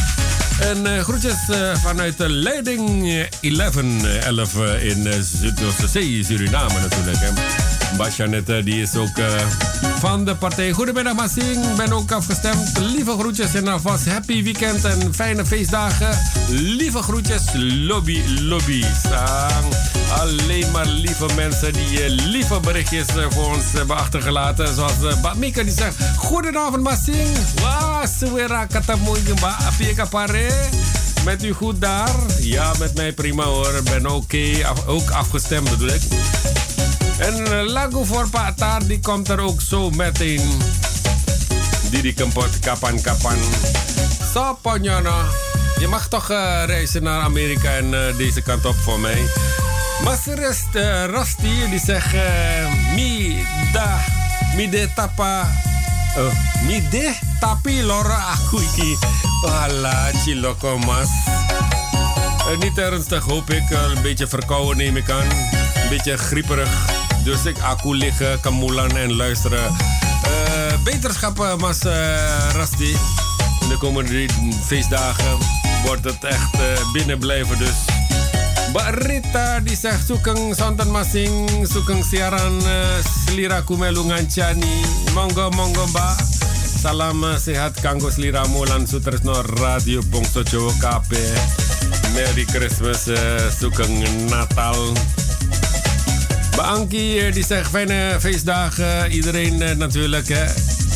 En groetjes vanuit de Leiding 11 in Zuid-Zee, Suriname natuurlijk. Basjanet die is ook van de partij. Goedemiddag Massing, ben ook afgestemd. Lieve groetjes en alvast happy weekend en fijne feestdagen. Lieve groetjes, lobby. Alleen maar lieve mensen die lieve berichtjes voor ons hebben achtergelaten. Zoals Batmika die zegt, goedenavond Massing. Wah, suwera ketemu Mbak Pika Pare. Met u goed daar? Ja, met mij prima hoor. Ben oké. Ook afgestemd bedoel ik. En lagu voor Pak Tar die komt er ook zo meteen. Didi Kempot kapan-kapan. So Ponyono. Je mag toch reizen naar Amerika en deze kant op voor mij. Master Rusty die zegt mide tapi lora aku iki. Wala, chiloko mas. Niet ernstig hoop ik. Een beetje verkouden neem ik aan. Een beetje grieperig. Dus aku liggen, kamulan en luisteren. Beterschap, Mas Rusty. In de komende feestdagen wordt het echt binnen blijven dus. Barita die zegt sukeng sonten masing, sukeng siaran seliraku melu ngancani. Monggo Mbak. Salam sehat kanggo sliramu lan sutresno Radio Bongsojo kabeh. Merry Christmas, sukeng Natal. Mbak Ankie die zegt fijne feestdagen iedereen natuurlijk hè.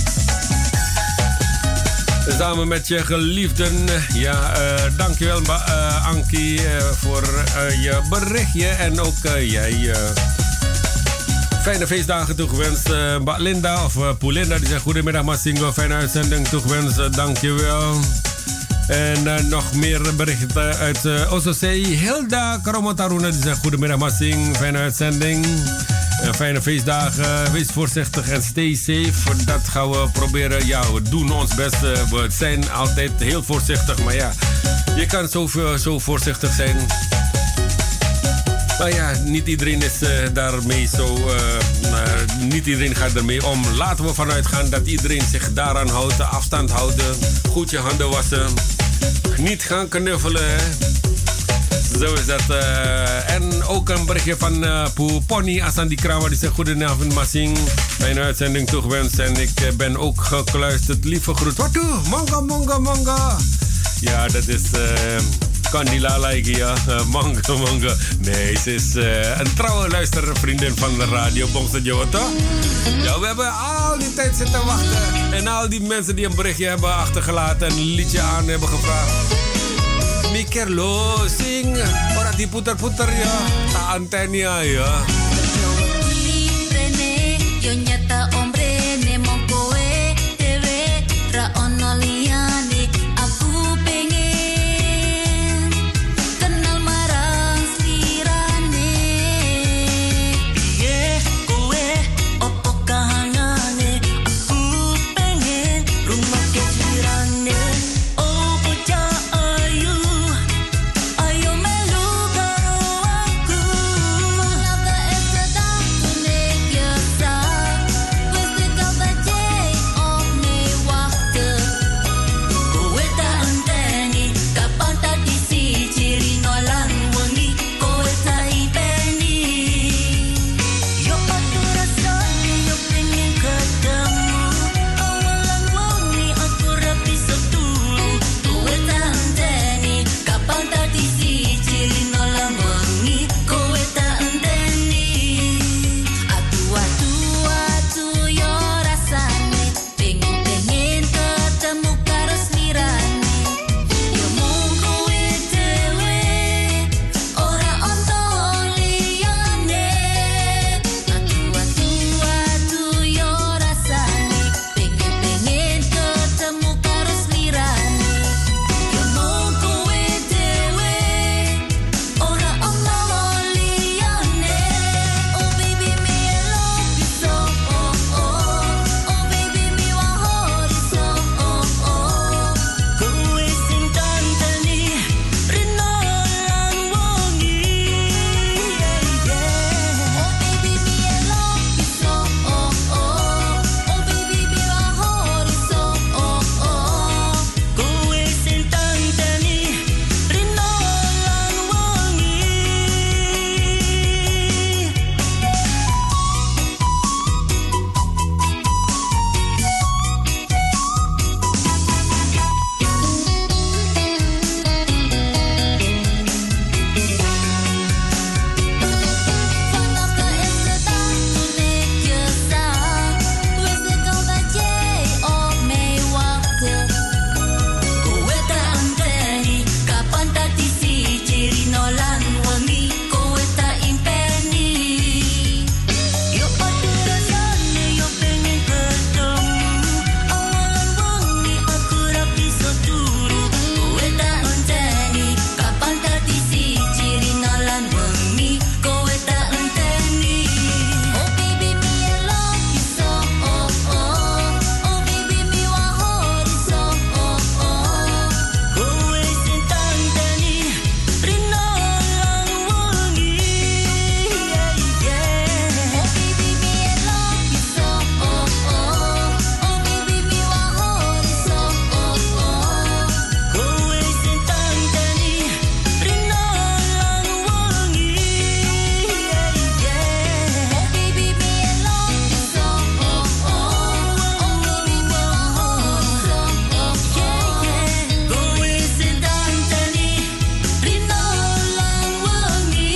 Samen met je geliefden. Ja, dankjewel Ankie voor je berichtje. En ook jij fijne feestdagen toegewenst. Mbak Linda of Poulinda die zegt goedemiddag Massingo. Fijne uitzending toegewenst. Dankjewel. En nog meer berichten uit Ososei. Hilda Karomotaruna die zegt goedemiddag Massing. Fijne uitzending. Fijne feestdagen. Wees voorzichtig en stay safe. Dat gaan we proberen. Ja, we doen ons best. We zijn altijd heel voorzichtig. Maar ja, je kan zo voorzichtig zijn. Maar ja, niet iedereen is daarmee zo... niet iedereen gaat ermee om. Laten we vanuit gaan dat iedereen zich daaraan houdt. Afstand houden. Goed je handen wassen. Niet gaan knuffelen. Hè? Zo is dat. En ook een berichtje van Pony Asandi Krawa. Die zegt goedenavond Massing. Mijn uitzending toegewenst. En ik ben ook gekluisterd. Lieve groet. Wat doe? Manga, manga, manga. Ja, dat is... Candila like, ja. Manga, manga. Nee, ze is een trouwe luistervriendin van de radio Bongso Jowo, toch? Ja, we hebben al die tijd zitten wachten. En al die mensen die een berichtje hebben achtergelaten en een liedje aan hebben gevraagd. Mikerlo, sing. Orang die puter-puter, ja. Ta antenia, ja. Yo nyata hombre ne mongkoe dewe ra ono liyane aku pengen kenal marang slirane piye kowe opo kahangane aku pengen rungokke slirane oh bocah ayu ayo melu karo aku laga eseda kune biasa wis dikau bace op me waktu kowe tak enteni kapan tadi si ciri nolang wengi kowe tak ipeni yo aku rasane yo pengen ketemu awalan wengi aku rapi setulu kowe tak enteni kapan tadi si ciri nolang wengi kowe tak enteni atu yo rasane pengen ketemu karo slirane yo mung kowe dewe ora ono liyane atu yo rasane pengen ketemu karo slirane yo mung kowe dewe ora ono liyane oh baby me love you so oh baby me want so kowe sing tanteni rino lan wengi oh baby me love you so oh baby me want so kowe sing tanteni rino lan wengi Vanaka eseda kune biasa wis dikau bace op me waktu kowe tak enteni kapan tadi si ciri nolan wengi kowe tak impeni yo padu rasane yo pengen ketemu awalan wengi aku rapi setulu kowe tak enteni kapan tadi si ciri nolan wengi kowe tak enteni oh baby me love you so oh baby me want so kowe sing tanteni rino lan wengi oh baby me love you so oh baby me want so kowe sing tanteni rino lan wengi oh baby me love you so oh baby me want so kowe sing tanteni rino lan wengi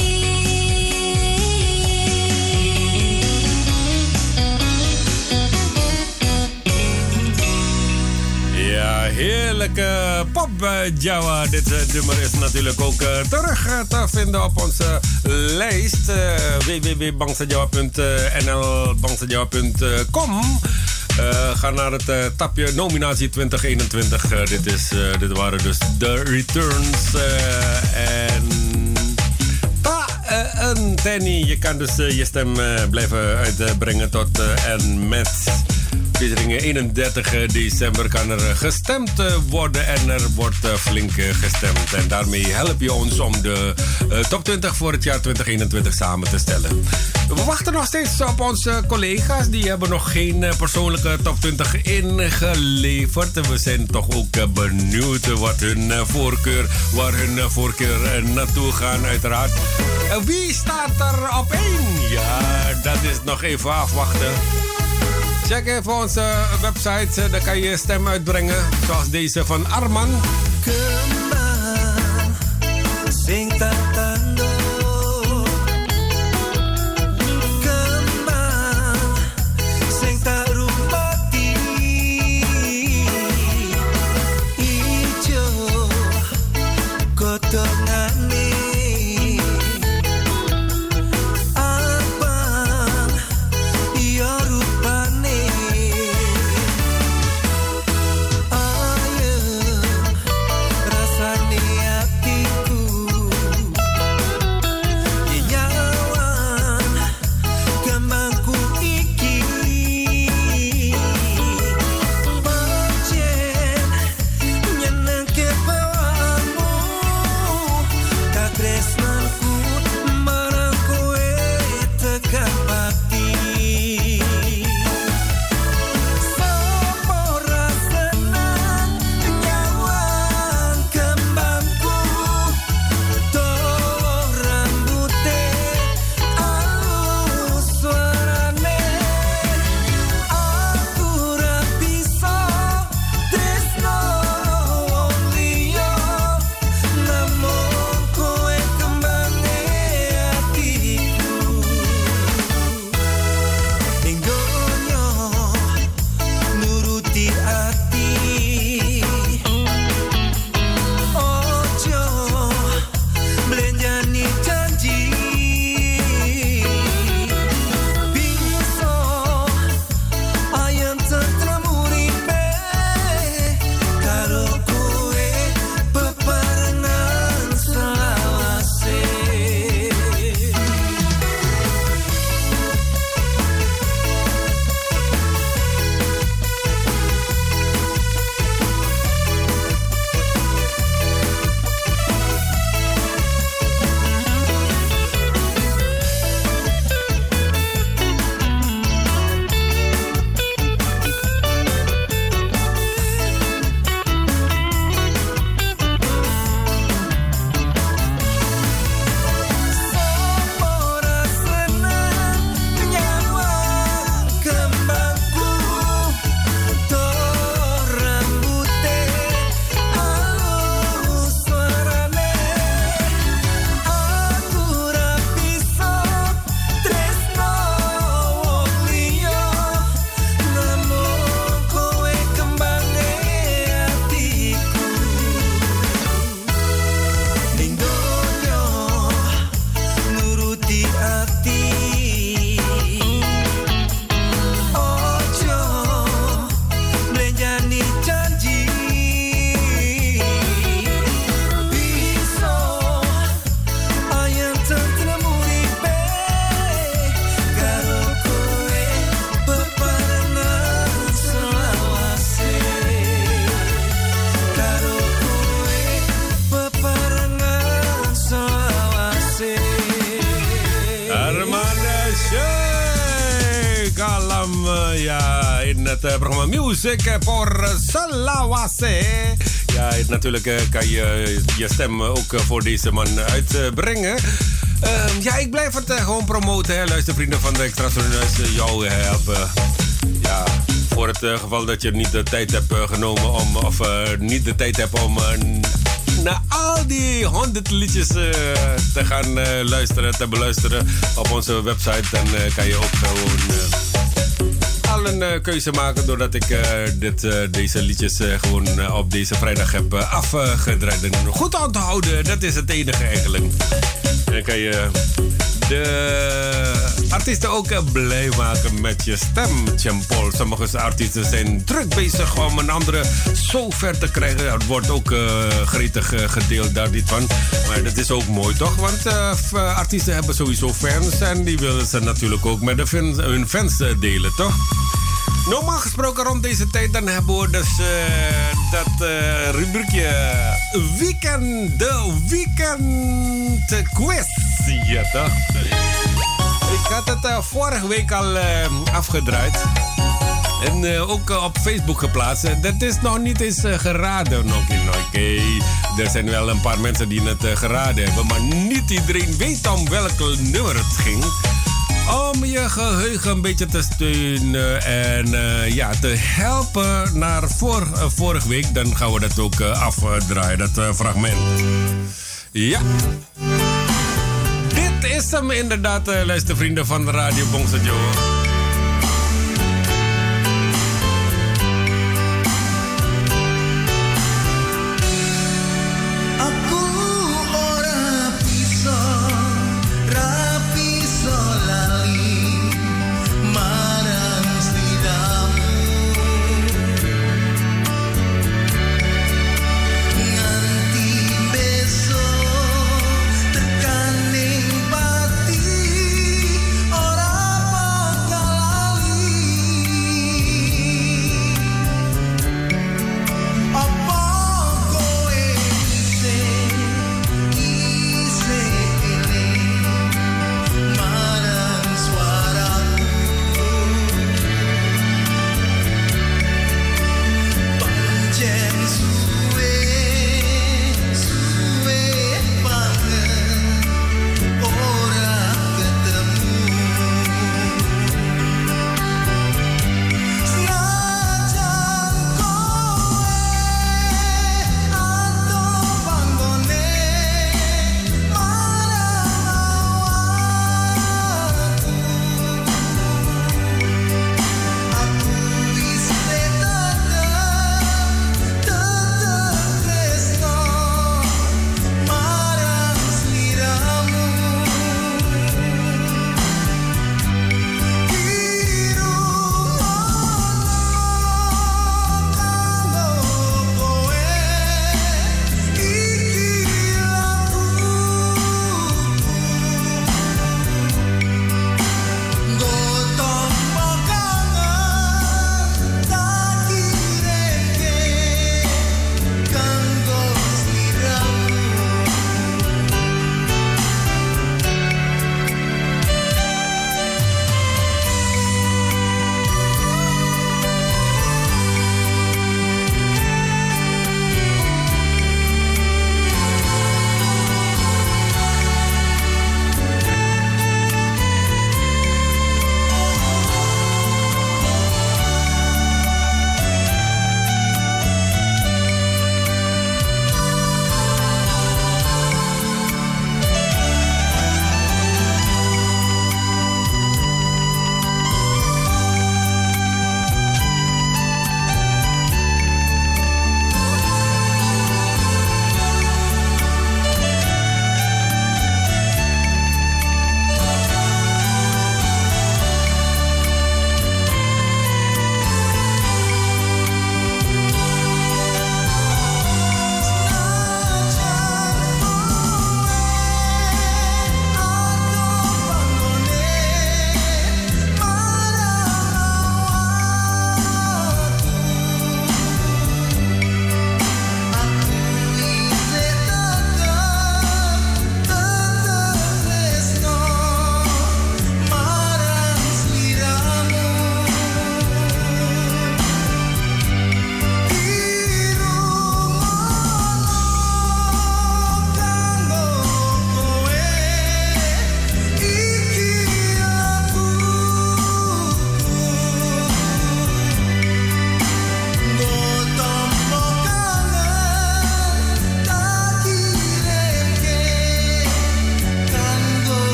Ja, heerlijke pop Jawa. Dit nummer is natuurlijk ook terug te vinden op onze lijst. www.bangsajawa.nl bangsajawa.com. Ga naar het tapje nominatie 2021. Dit waren dus de returns. En Tenny, je kan dus je stem blijven uitbrengen tot en met Featuring 31 december kan er gestemd worden en er wordt flink gestemd. En daarmee help je ons om de top 20 voor het jaar 2021 samen te stellen. We wachten nog steeds op onze collega's. Die hebben nog geen persoonlijke top 20 ingeleverd. We zijn toch ook benieuwd waar hun voorkeur naartoe gaan uiteraard. Wie staat er op 1? Ja, dat is nog even afwachten. Check even onze website, daar kan je stem uitbrengen. Zoals deze van Arman. Kembang, sing tatando. Kembang, sing tarumati. Ijo, godongane. Abang, iya rupane. het programma Music voor Salawase. Ja, natuurlijk kan je je stem ook voor deze man uitbrengen. Ja, ik blijf het gewoon promoten, hè. Luister, vrienden van de Extra Sonneus, jou helpen. Ja, voor het geval dat je niet de tijd hebt genomen om, of niet de tijd hebt om naar al die 100 liedjes te gaan te beluisteren op onze website. Dan kan je ook gewoon al een keuze maken doordat ik deze liedjes gewoon op deze vrijdag heb afgedraaid. En goed onthouden, dat is het enige eigenlijk. Dan kan je de artiesten ook blij maken met je stem, Jean-Paul. Sommige artiesten zijn druk bezig om een andere zo ver te krijgen. Dat wordt ook gretig gedeeld daar niet van. Maar dat is ook mooi, toch? Want artiesten hebben sowieso fans en die willen ze natuurlijk ook met hun fans delen, toch? Normaal gesproken rond deze tijd dan hebben we dus dat rubriekje de weekend quiz. Ja toch? Ik had het vorige week al afgedraaid. En ook op Facebook geplaatst. Dat is nog niet eens geraden. Oké. Er zijn wel een paar mensen die het geraden hebben. Maar niet iedereen weet om welk nummer het ging. Om je geheugen een beetje te steunen en te helpen naar vorige week. Dan gaan we dat ook afdraaien, dat fragment. Ja. Dit is hem inderdaad, luistervrienden van Radio Bongso Jowo. Ora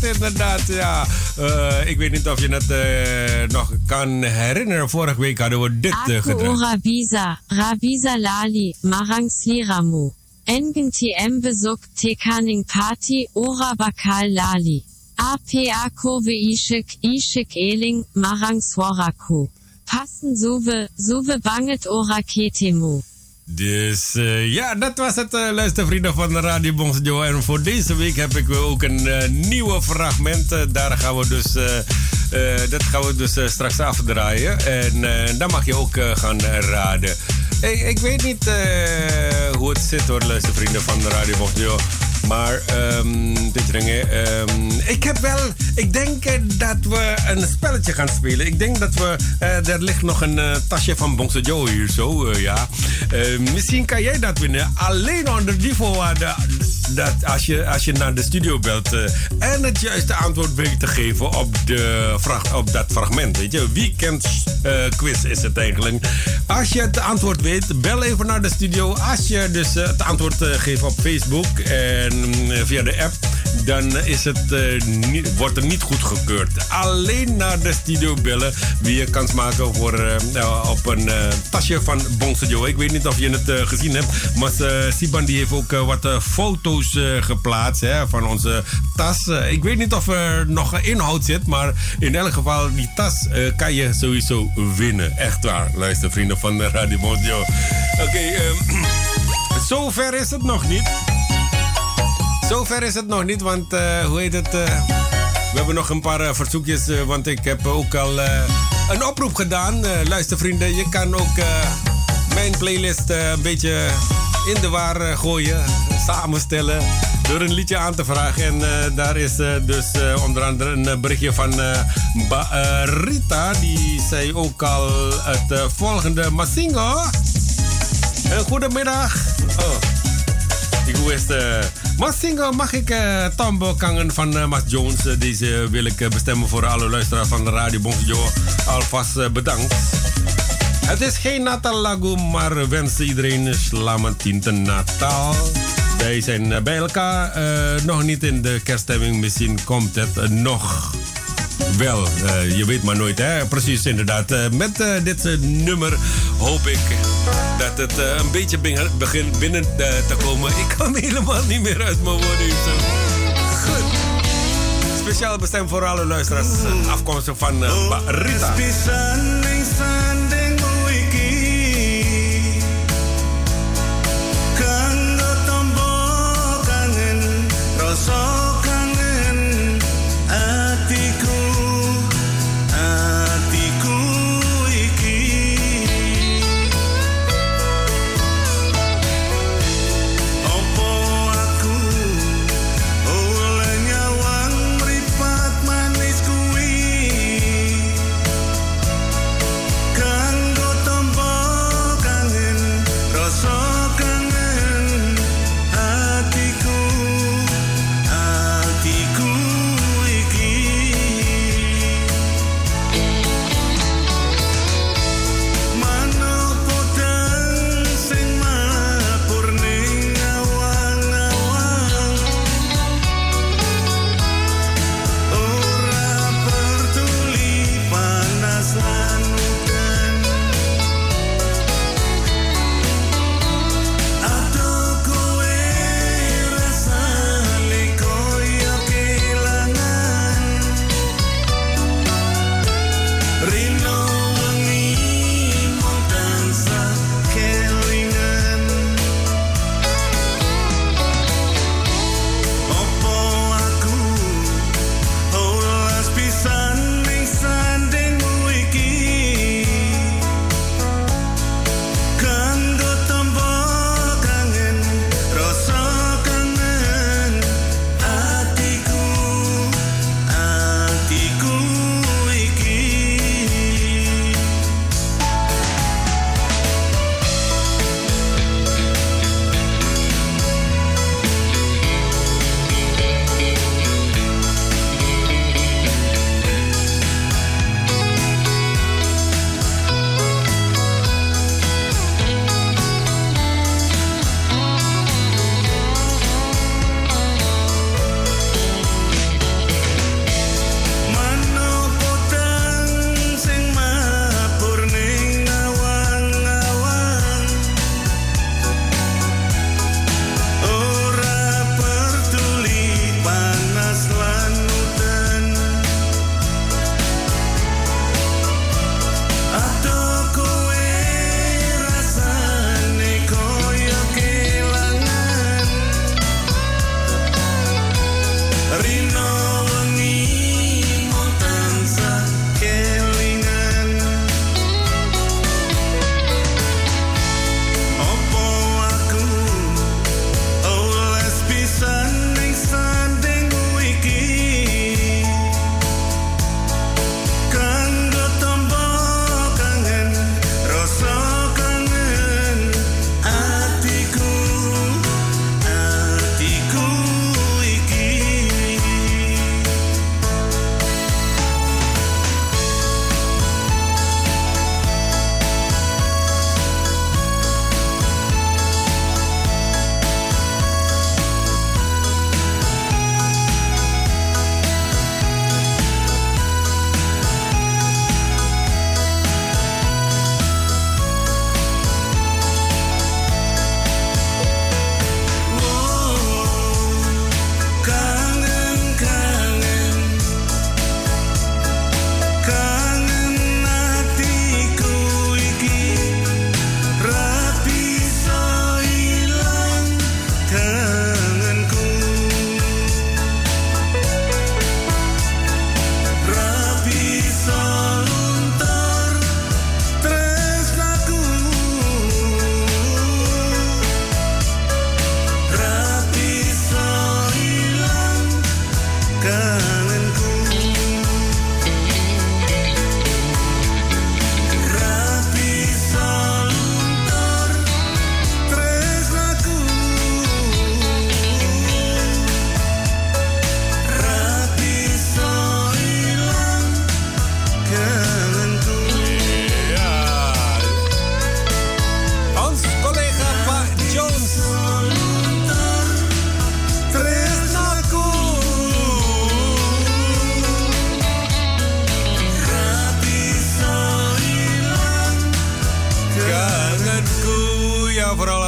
inderdaad, ja. Ik weet niet of je het nog kan herinneren. Vorige week hadden we dit gedraaid. Rabiza Lali, Marang Sliramu. Engentiem bezoek tekaning party ora bakal lali. APA kove ishik eling, Marang Swaraku. Passen zuwe banget ora ketemu. Dus ja, dat was het, luistervrienden van de Radio Bongso. En voor deze week heb ik ook een nieuwe fragment. Daar gaan we dus, dat gaan we dus straks afdraaien. En dan mag je ook gaan raden. Ik weet niet hoe het zit hoor, luistervrienden van de Radio Bongso. Maar ik denk dat we een spelletje gaan spelen. Ik denk dat we, er ligt nog een tasje van Bongso Joe hier zo, ja. Misschien kan jij dat winnen. Alleen onder die voorwaarde dat als je naar de studio belt en het juiste antwoord weet te geven op dat fragment. Weet je, weekend quiz is het eigenlijk. Als je het antwoord weet, bel even naar de studio. Als je dus het antwoord geeft op Facebook en via de app, dan is het, wordt er niet goedgekeurd. Alleen naar de studio bellen wie je kans maken voor, op een tasje van Bongso Joe. Ik weet niet of je het gezien hebt, maar Siban die heeft ook wat foto's geplaatst van onze tas. Ik weet niet of er nog inhoud zit, maar in elk geval die tas kan je sowieso winnen. Echt waar, luister vrienden van de Radio Bongso. Oké, zover is het nog niet. Zover is het nog niet, want hoe heet het? We hebben nog een paar verzoekjes, want ik heb ook al een oproep gedaan. Luister vrienden, je kan ook mijn playlist een beetje in de war gooien, samenstellen, door een liedje aan te vragen. En daar is dus onder andere een berichtje van Rita, die zei ook al het volgende. Masingo, goedemiddag. Oh. Ik wist, Masingo, mag ik Tombo Kangen van Mas Jones? Deze wil ik bestemmen voor alle luisteraars van de Radio Bongso. Alvast bedankt. Het is geen Natal-lagu, maar wensen iedereen Slamatinte Natal. Wij zijn bij elkaar, nog niet in de kerststemming. Misschien komt het nog wel. Je weet maar nooit, hè? Precies, inderdaad. Met dit nummer hoop ik dat het een beetje begint binnen te komen. Ik kan helemaal niet meer uit mijn woorden. Goed. Speciaal bestemd voor alle luisteraars, afkomstig van Rita.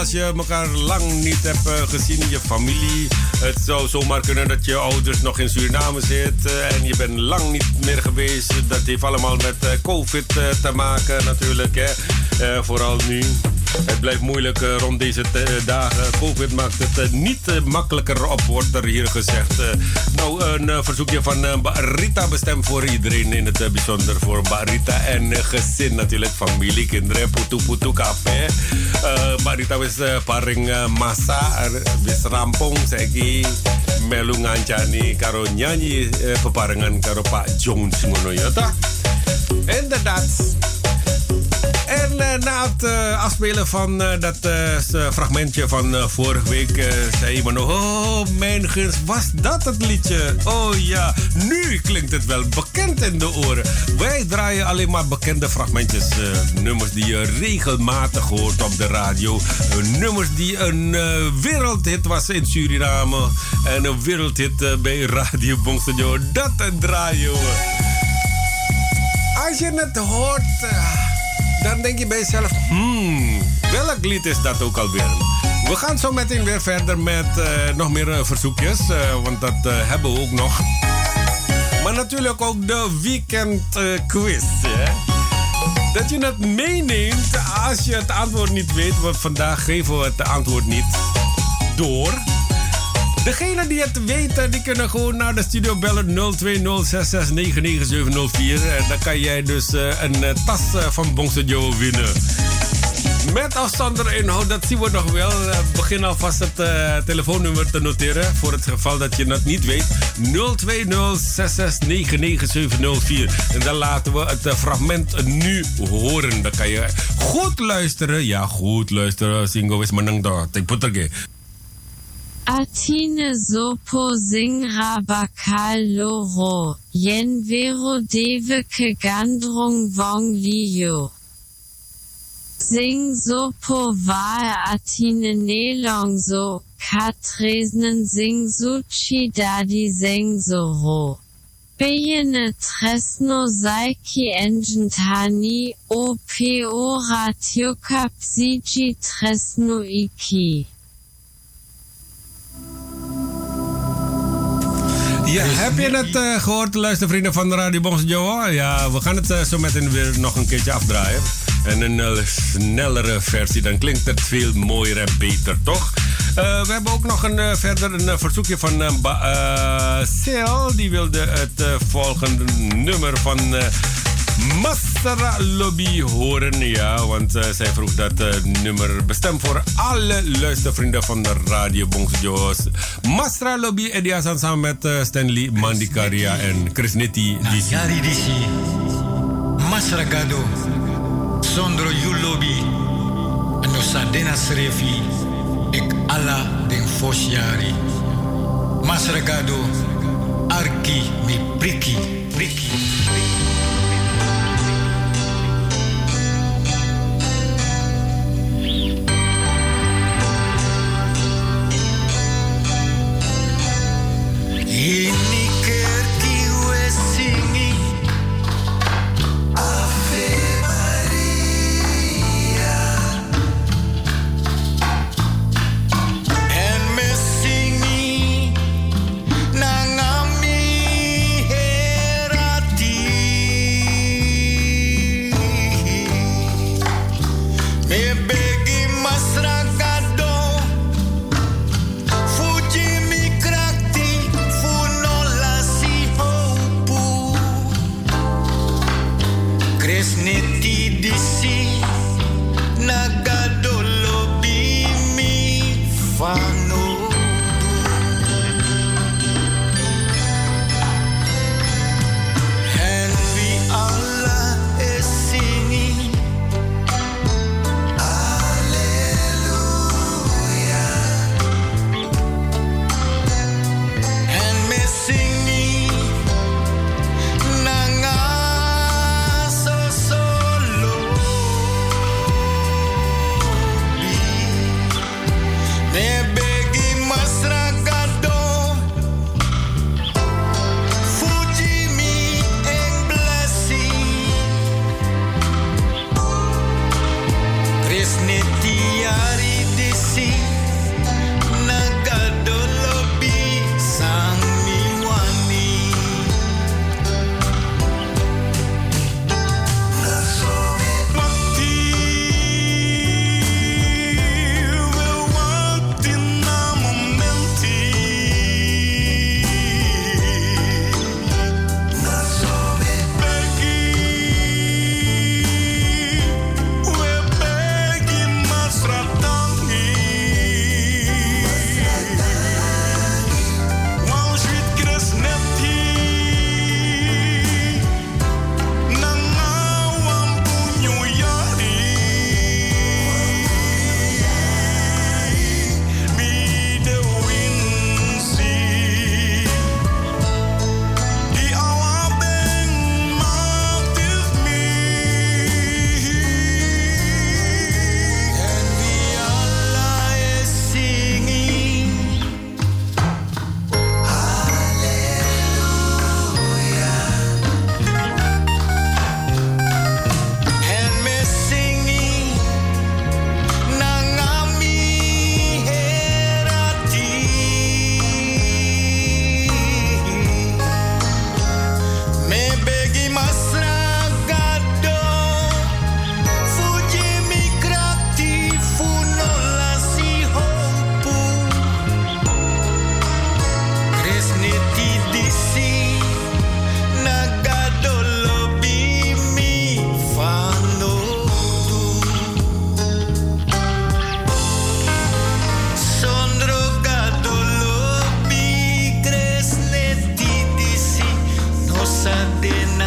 als je elkaar lang niet hebt gezien, je familie. Het zou zomaar kunnen dat je ouders nog in Suriname zitten en je bent lang niet meer geweest. Dat heeft allemaal met COVID te maken natuurlijk, hè. Vooral nu. Het blijft moeilijk rond deze dagen. COVID maakt het niet makkelijker op, wordt er hier gezegd. Nou, een verzoekje van Rita bestemd voor iedereen, in het bijzonder voor Rita en gezin natuurlijk, familie, kinderen, putu kape. Rita wis paring masa, wis rampung, saiki melu ngancani karo nyanyi peparengan karo Pak Jones ngono ya ta. Inderdaad. En na het afspelen van dat fragmentje van vorige week zei iemand nog: oh, mijn gunst, was dat het liedje? Oh ja, nu klinkt het wel bekend in de oren. Wij draaien alleen maar bekende fragmentjes. Nummers die je regelmatig hoort op de radio. Nummers die een wereldhit was in Suriname. En een wereldhit bij Radio Bongstudio. Dat draaien we. Als je het hoort, dan denk je bij jezelf, welk lied is dat ook alweer? We gaan zo meteen weer verder met nog meer verzoekjes, want dat hebben we ook nog. Maar natuurlijk ook de weekend quiz. Hè? Dat je het meeneemt als je het antwoord niet weet, want vandaag geven we het antwoord niet door. Degenen die het weten, die kunnen gewoon naar de studio bellen 02066997004. En dan kan jij dus een tas van Bongstudio winnen. Met of zonder inhoud, dat zien we nog wel. Begin alvast het telefoonnummer te noteren. Voor het geval dat je het niet weet. 02066997004. En dan laten we het fragment nu horen. Dan kan je goed luisteren. Ja, goed luisteren. Singo is menang do. Tik puter. Atine sopo singra bakal loro, yen vero deveke gandrung vong liyo. Sing sopo vae atine nelong so, katresnen sing suchi dadi seng soro. Bejene tresno saiki engentani, opo ratiokap siji tresno iki. Ja, heb je het gehoord, luistervrienden van de Radio Bongstudio? Ja, we gaan het zo meteen weer nog een keertje afdraaien. En een snellere versie, dan klinkt het veel mooier en beter, toch? We hebben ook nog verder een verzoekje van Seel. Die wilde het volgende nummer van Masra Lobby horen. Ja, want zij vroeg dat nummer bestemd voor alle luistervrienden van de Radio Bongstudio's. Masra Lobby en die is samen met Stanley Mandikaria en Chris Nitti. Yari disi Masra Gado Sondro you lobby en no sadena srefi ik ala den fosjari Masra Gado Arki mi priki Ini kerti wesingi Ave Maria En me singi Nangami herati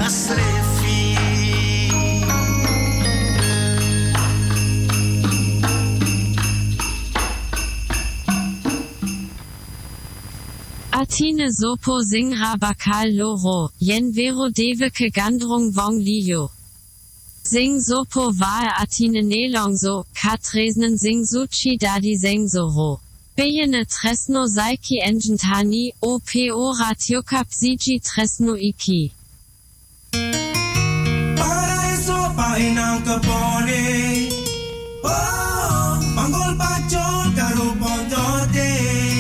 Srefi. Atine sopo singra bakal loro, yen vero deveke gandrung vong liyo. Sing sopo vae atine nelongso, katresnen sing suchi dadi sengsoro. Bejene tresno saiki engentani, opo ratiokap siji tresno iki. Paraíso painang kebone. Oh, manggol pacol karo pondote.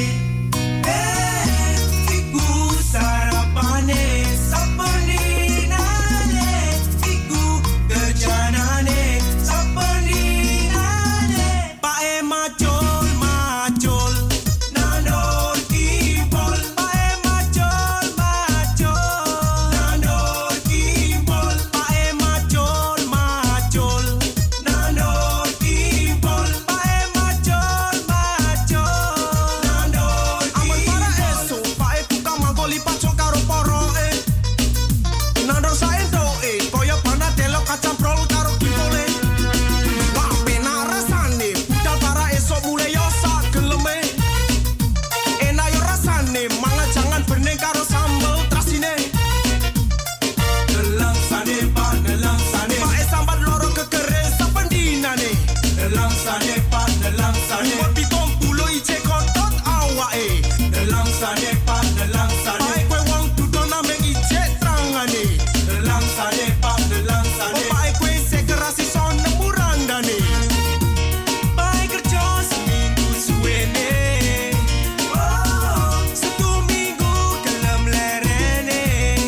Iku sarapane sapeninane. Iku kejanane sapeninane. Pae macol macol nandor kimpol. Pae macol macol nandor kimpol. Pae macol macol nandor kimpol. Pae macol macol nandor kimpol. Aman para eso pae buka manggoli pacol karo poroe. Nandor saendo koyo panatelo kacamprol karo kimpole. Wah pena rasane budal para eso mulai yo sak geleme. Enak yo rasane manga jangan bening karo sambel trasine. Nelang sane pak pae sambat loro kekere sapendinane. Nelang sane buat pitung puluh ije kotot awake. Nelang sane pae kue wong dudon ambek ije trangane. Nelang sane pae kue sekerasi son nemurandane. Pae kerja seminggu suwene. Oh, satu minggu gelem lerene.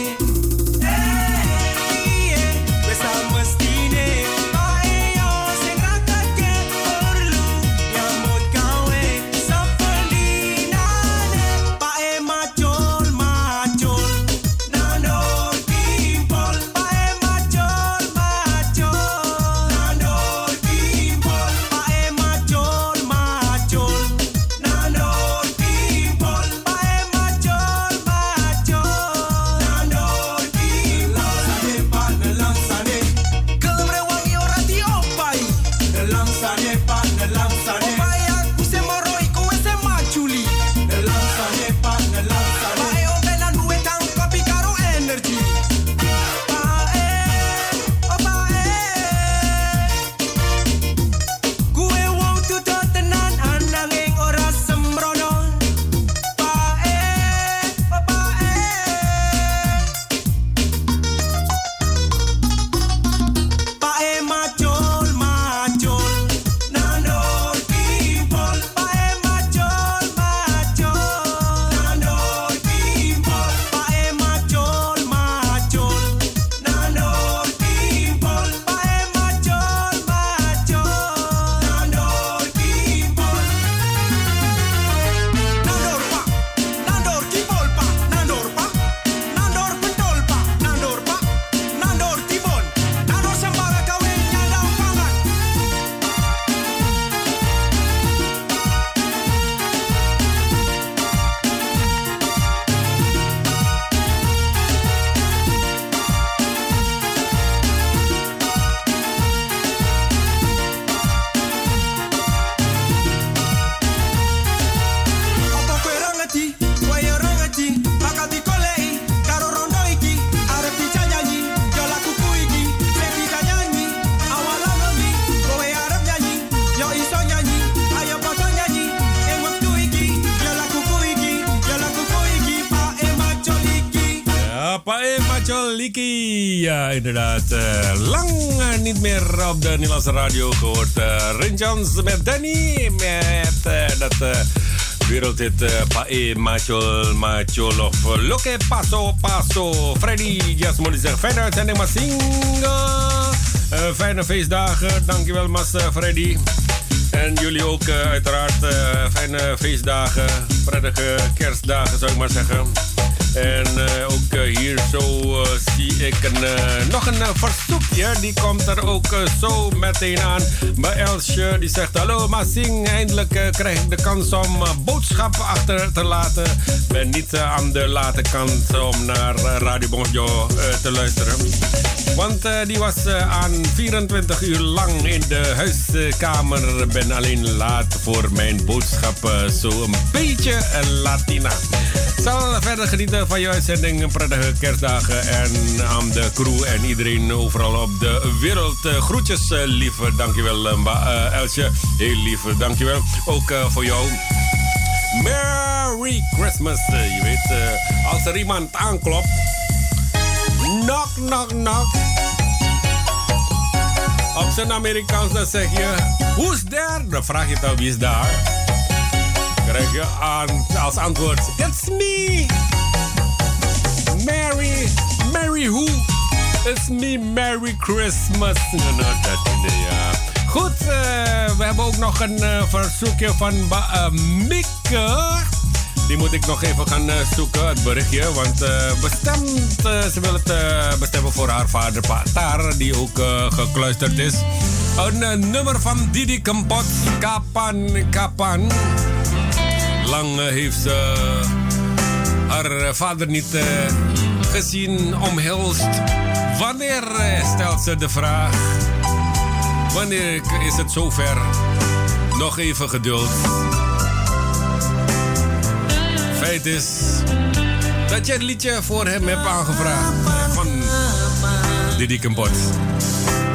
Iye, wes mestine. Pae yo sing rakake perlu nyambut gawe sapelinane. Pae macol macol nandor kimpol. Pae macol macol nandor kimpol. Pae macol macol nandor kimpol. Pae macol macol nandor kimpol. Nelang sane gelem rewangi ora diopai. Nelang sane opai aku se moro iku wis se majuli. Nelang sane pae ombenan duwe kang kopi karo energi. Pae kue wong tuto tenan ananging ora sembrono. Pae macol macol nandor kimpol. Pae macol macol nandor kimpol. Pae macol macol nandor kimpol. Pae macol macol nandor kimpol. Nandor pak, nandor kimpol pak, nandor pak, nandor pentol pak, nandor pak, nandor tibon, nandor sembara kawin nyandang pangan. Apa kowe ora ngerti? Kowe ora ngerti? Bakal dikoleki karo rondo iki. Arep dijanji, yo lakuku iki. Sing dijanji, awalan ngendi? Kowe arep nyanyi, yo iso nyanyi. Ayo padha nyanyi. Ing wektu iki, yo lakuku iki. Pae macol iki. Ja, Pae Macol Liki. Ja, inderdaad. Lang niet meer op de Nederlandse radio gehoord. Rinjans met Danny. Met dat wereldhit Pae Macol of Loke Paso. Freddy Jasmine zegt fijne uitzending maar fijne feestdagen. Dankjewel mas Freddy. En jullie ook uiteraard fijne feestdagen. Prettige kerstdagen zou ik maar zeggen. En ook hier zo zie ik nog een verzoekje. Die komt er ook zo meteen aan. Bij Elsje, die zegt: hallo Masing, eindelijk krijg ik de kans om boodschappen achter te laten. Ben niet aan de late kant om naar Radio Bonjo te luisteren. Want die was aan 24 uur lang in de huiskamer. Ben alleen laat voor mijn boodschappen. Zo een beetje Latina. Zal verder genieten van je uitzending. Prettige kerstdagen. En aan de crew en iedereen overal op de wereld. Groetjes, lieve. Dankjewel, Elsje. Heel lief, dankjewel. Ook voor jou. Merry Christmas. Je weet, als er iemand aanklopt. Knock, knock, knock. Op zijn Amerikaans dan zeg je: who's there? Dan vraag je dan wie is daar. Krijg je als antwoord: it's me. Merry who? It's me, Merry Christmas. No, dat idee, ja. Goed, we hebben ook nog een verzoekje van Mieke. Die moet ik nog even gaan zoeken, het berichtje. Want ze wil het bestemmen voor haar vader Patar, die ook gekluisterd is. Een nummer van Didi Kempot, Kapan. Lang heeft ze haar vader niet gezien, omhelst. Wanneer stelt ze de vraag? Wanneer is het zover? Nog even geduld. Feit is dat je het liedje voor hem hebt aangevraagd van Didi Kempot.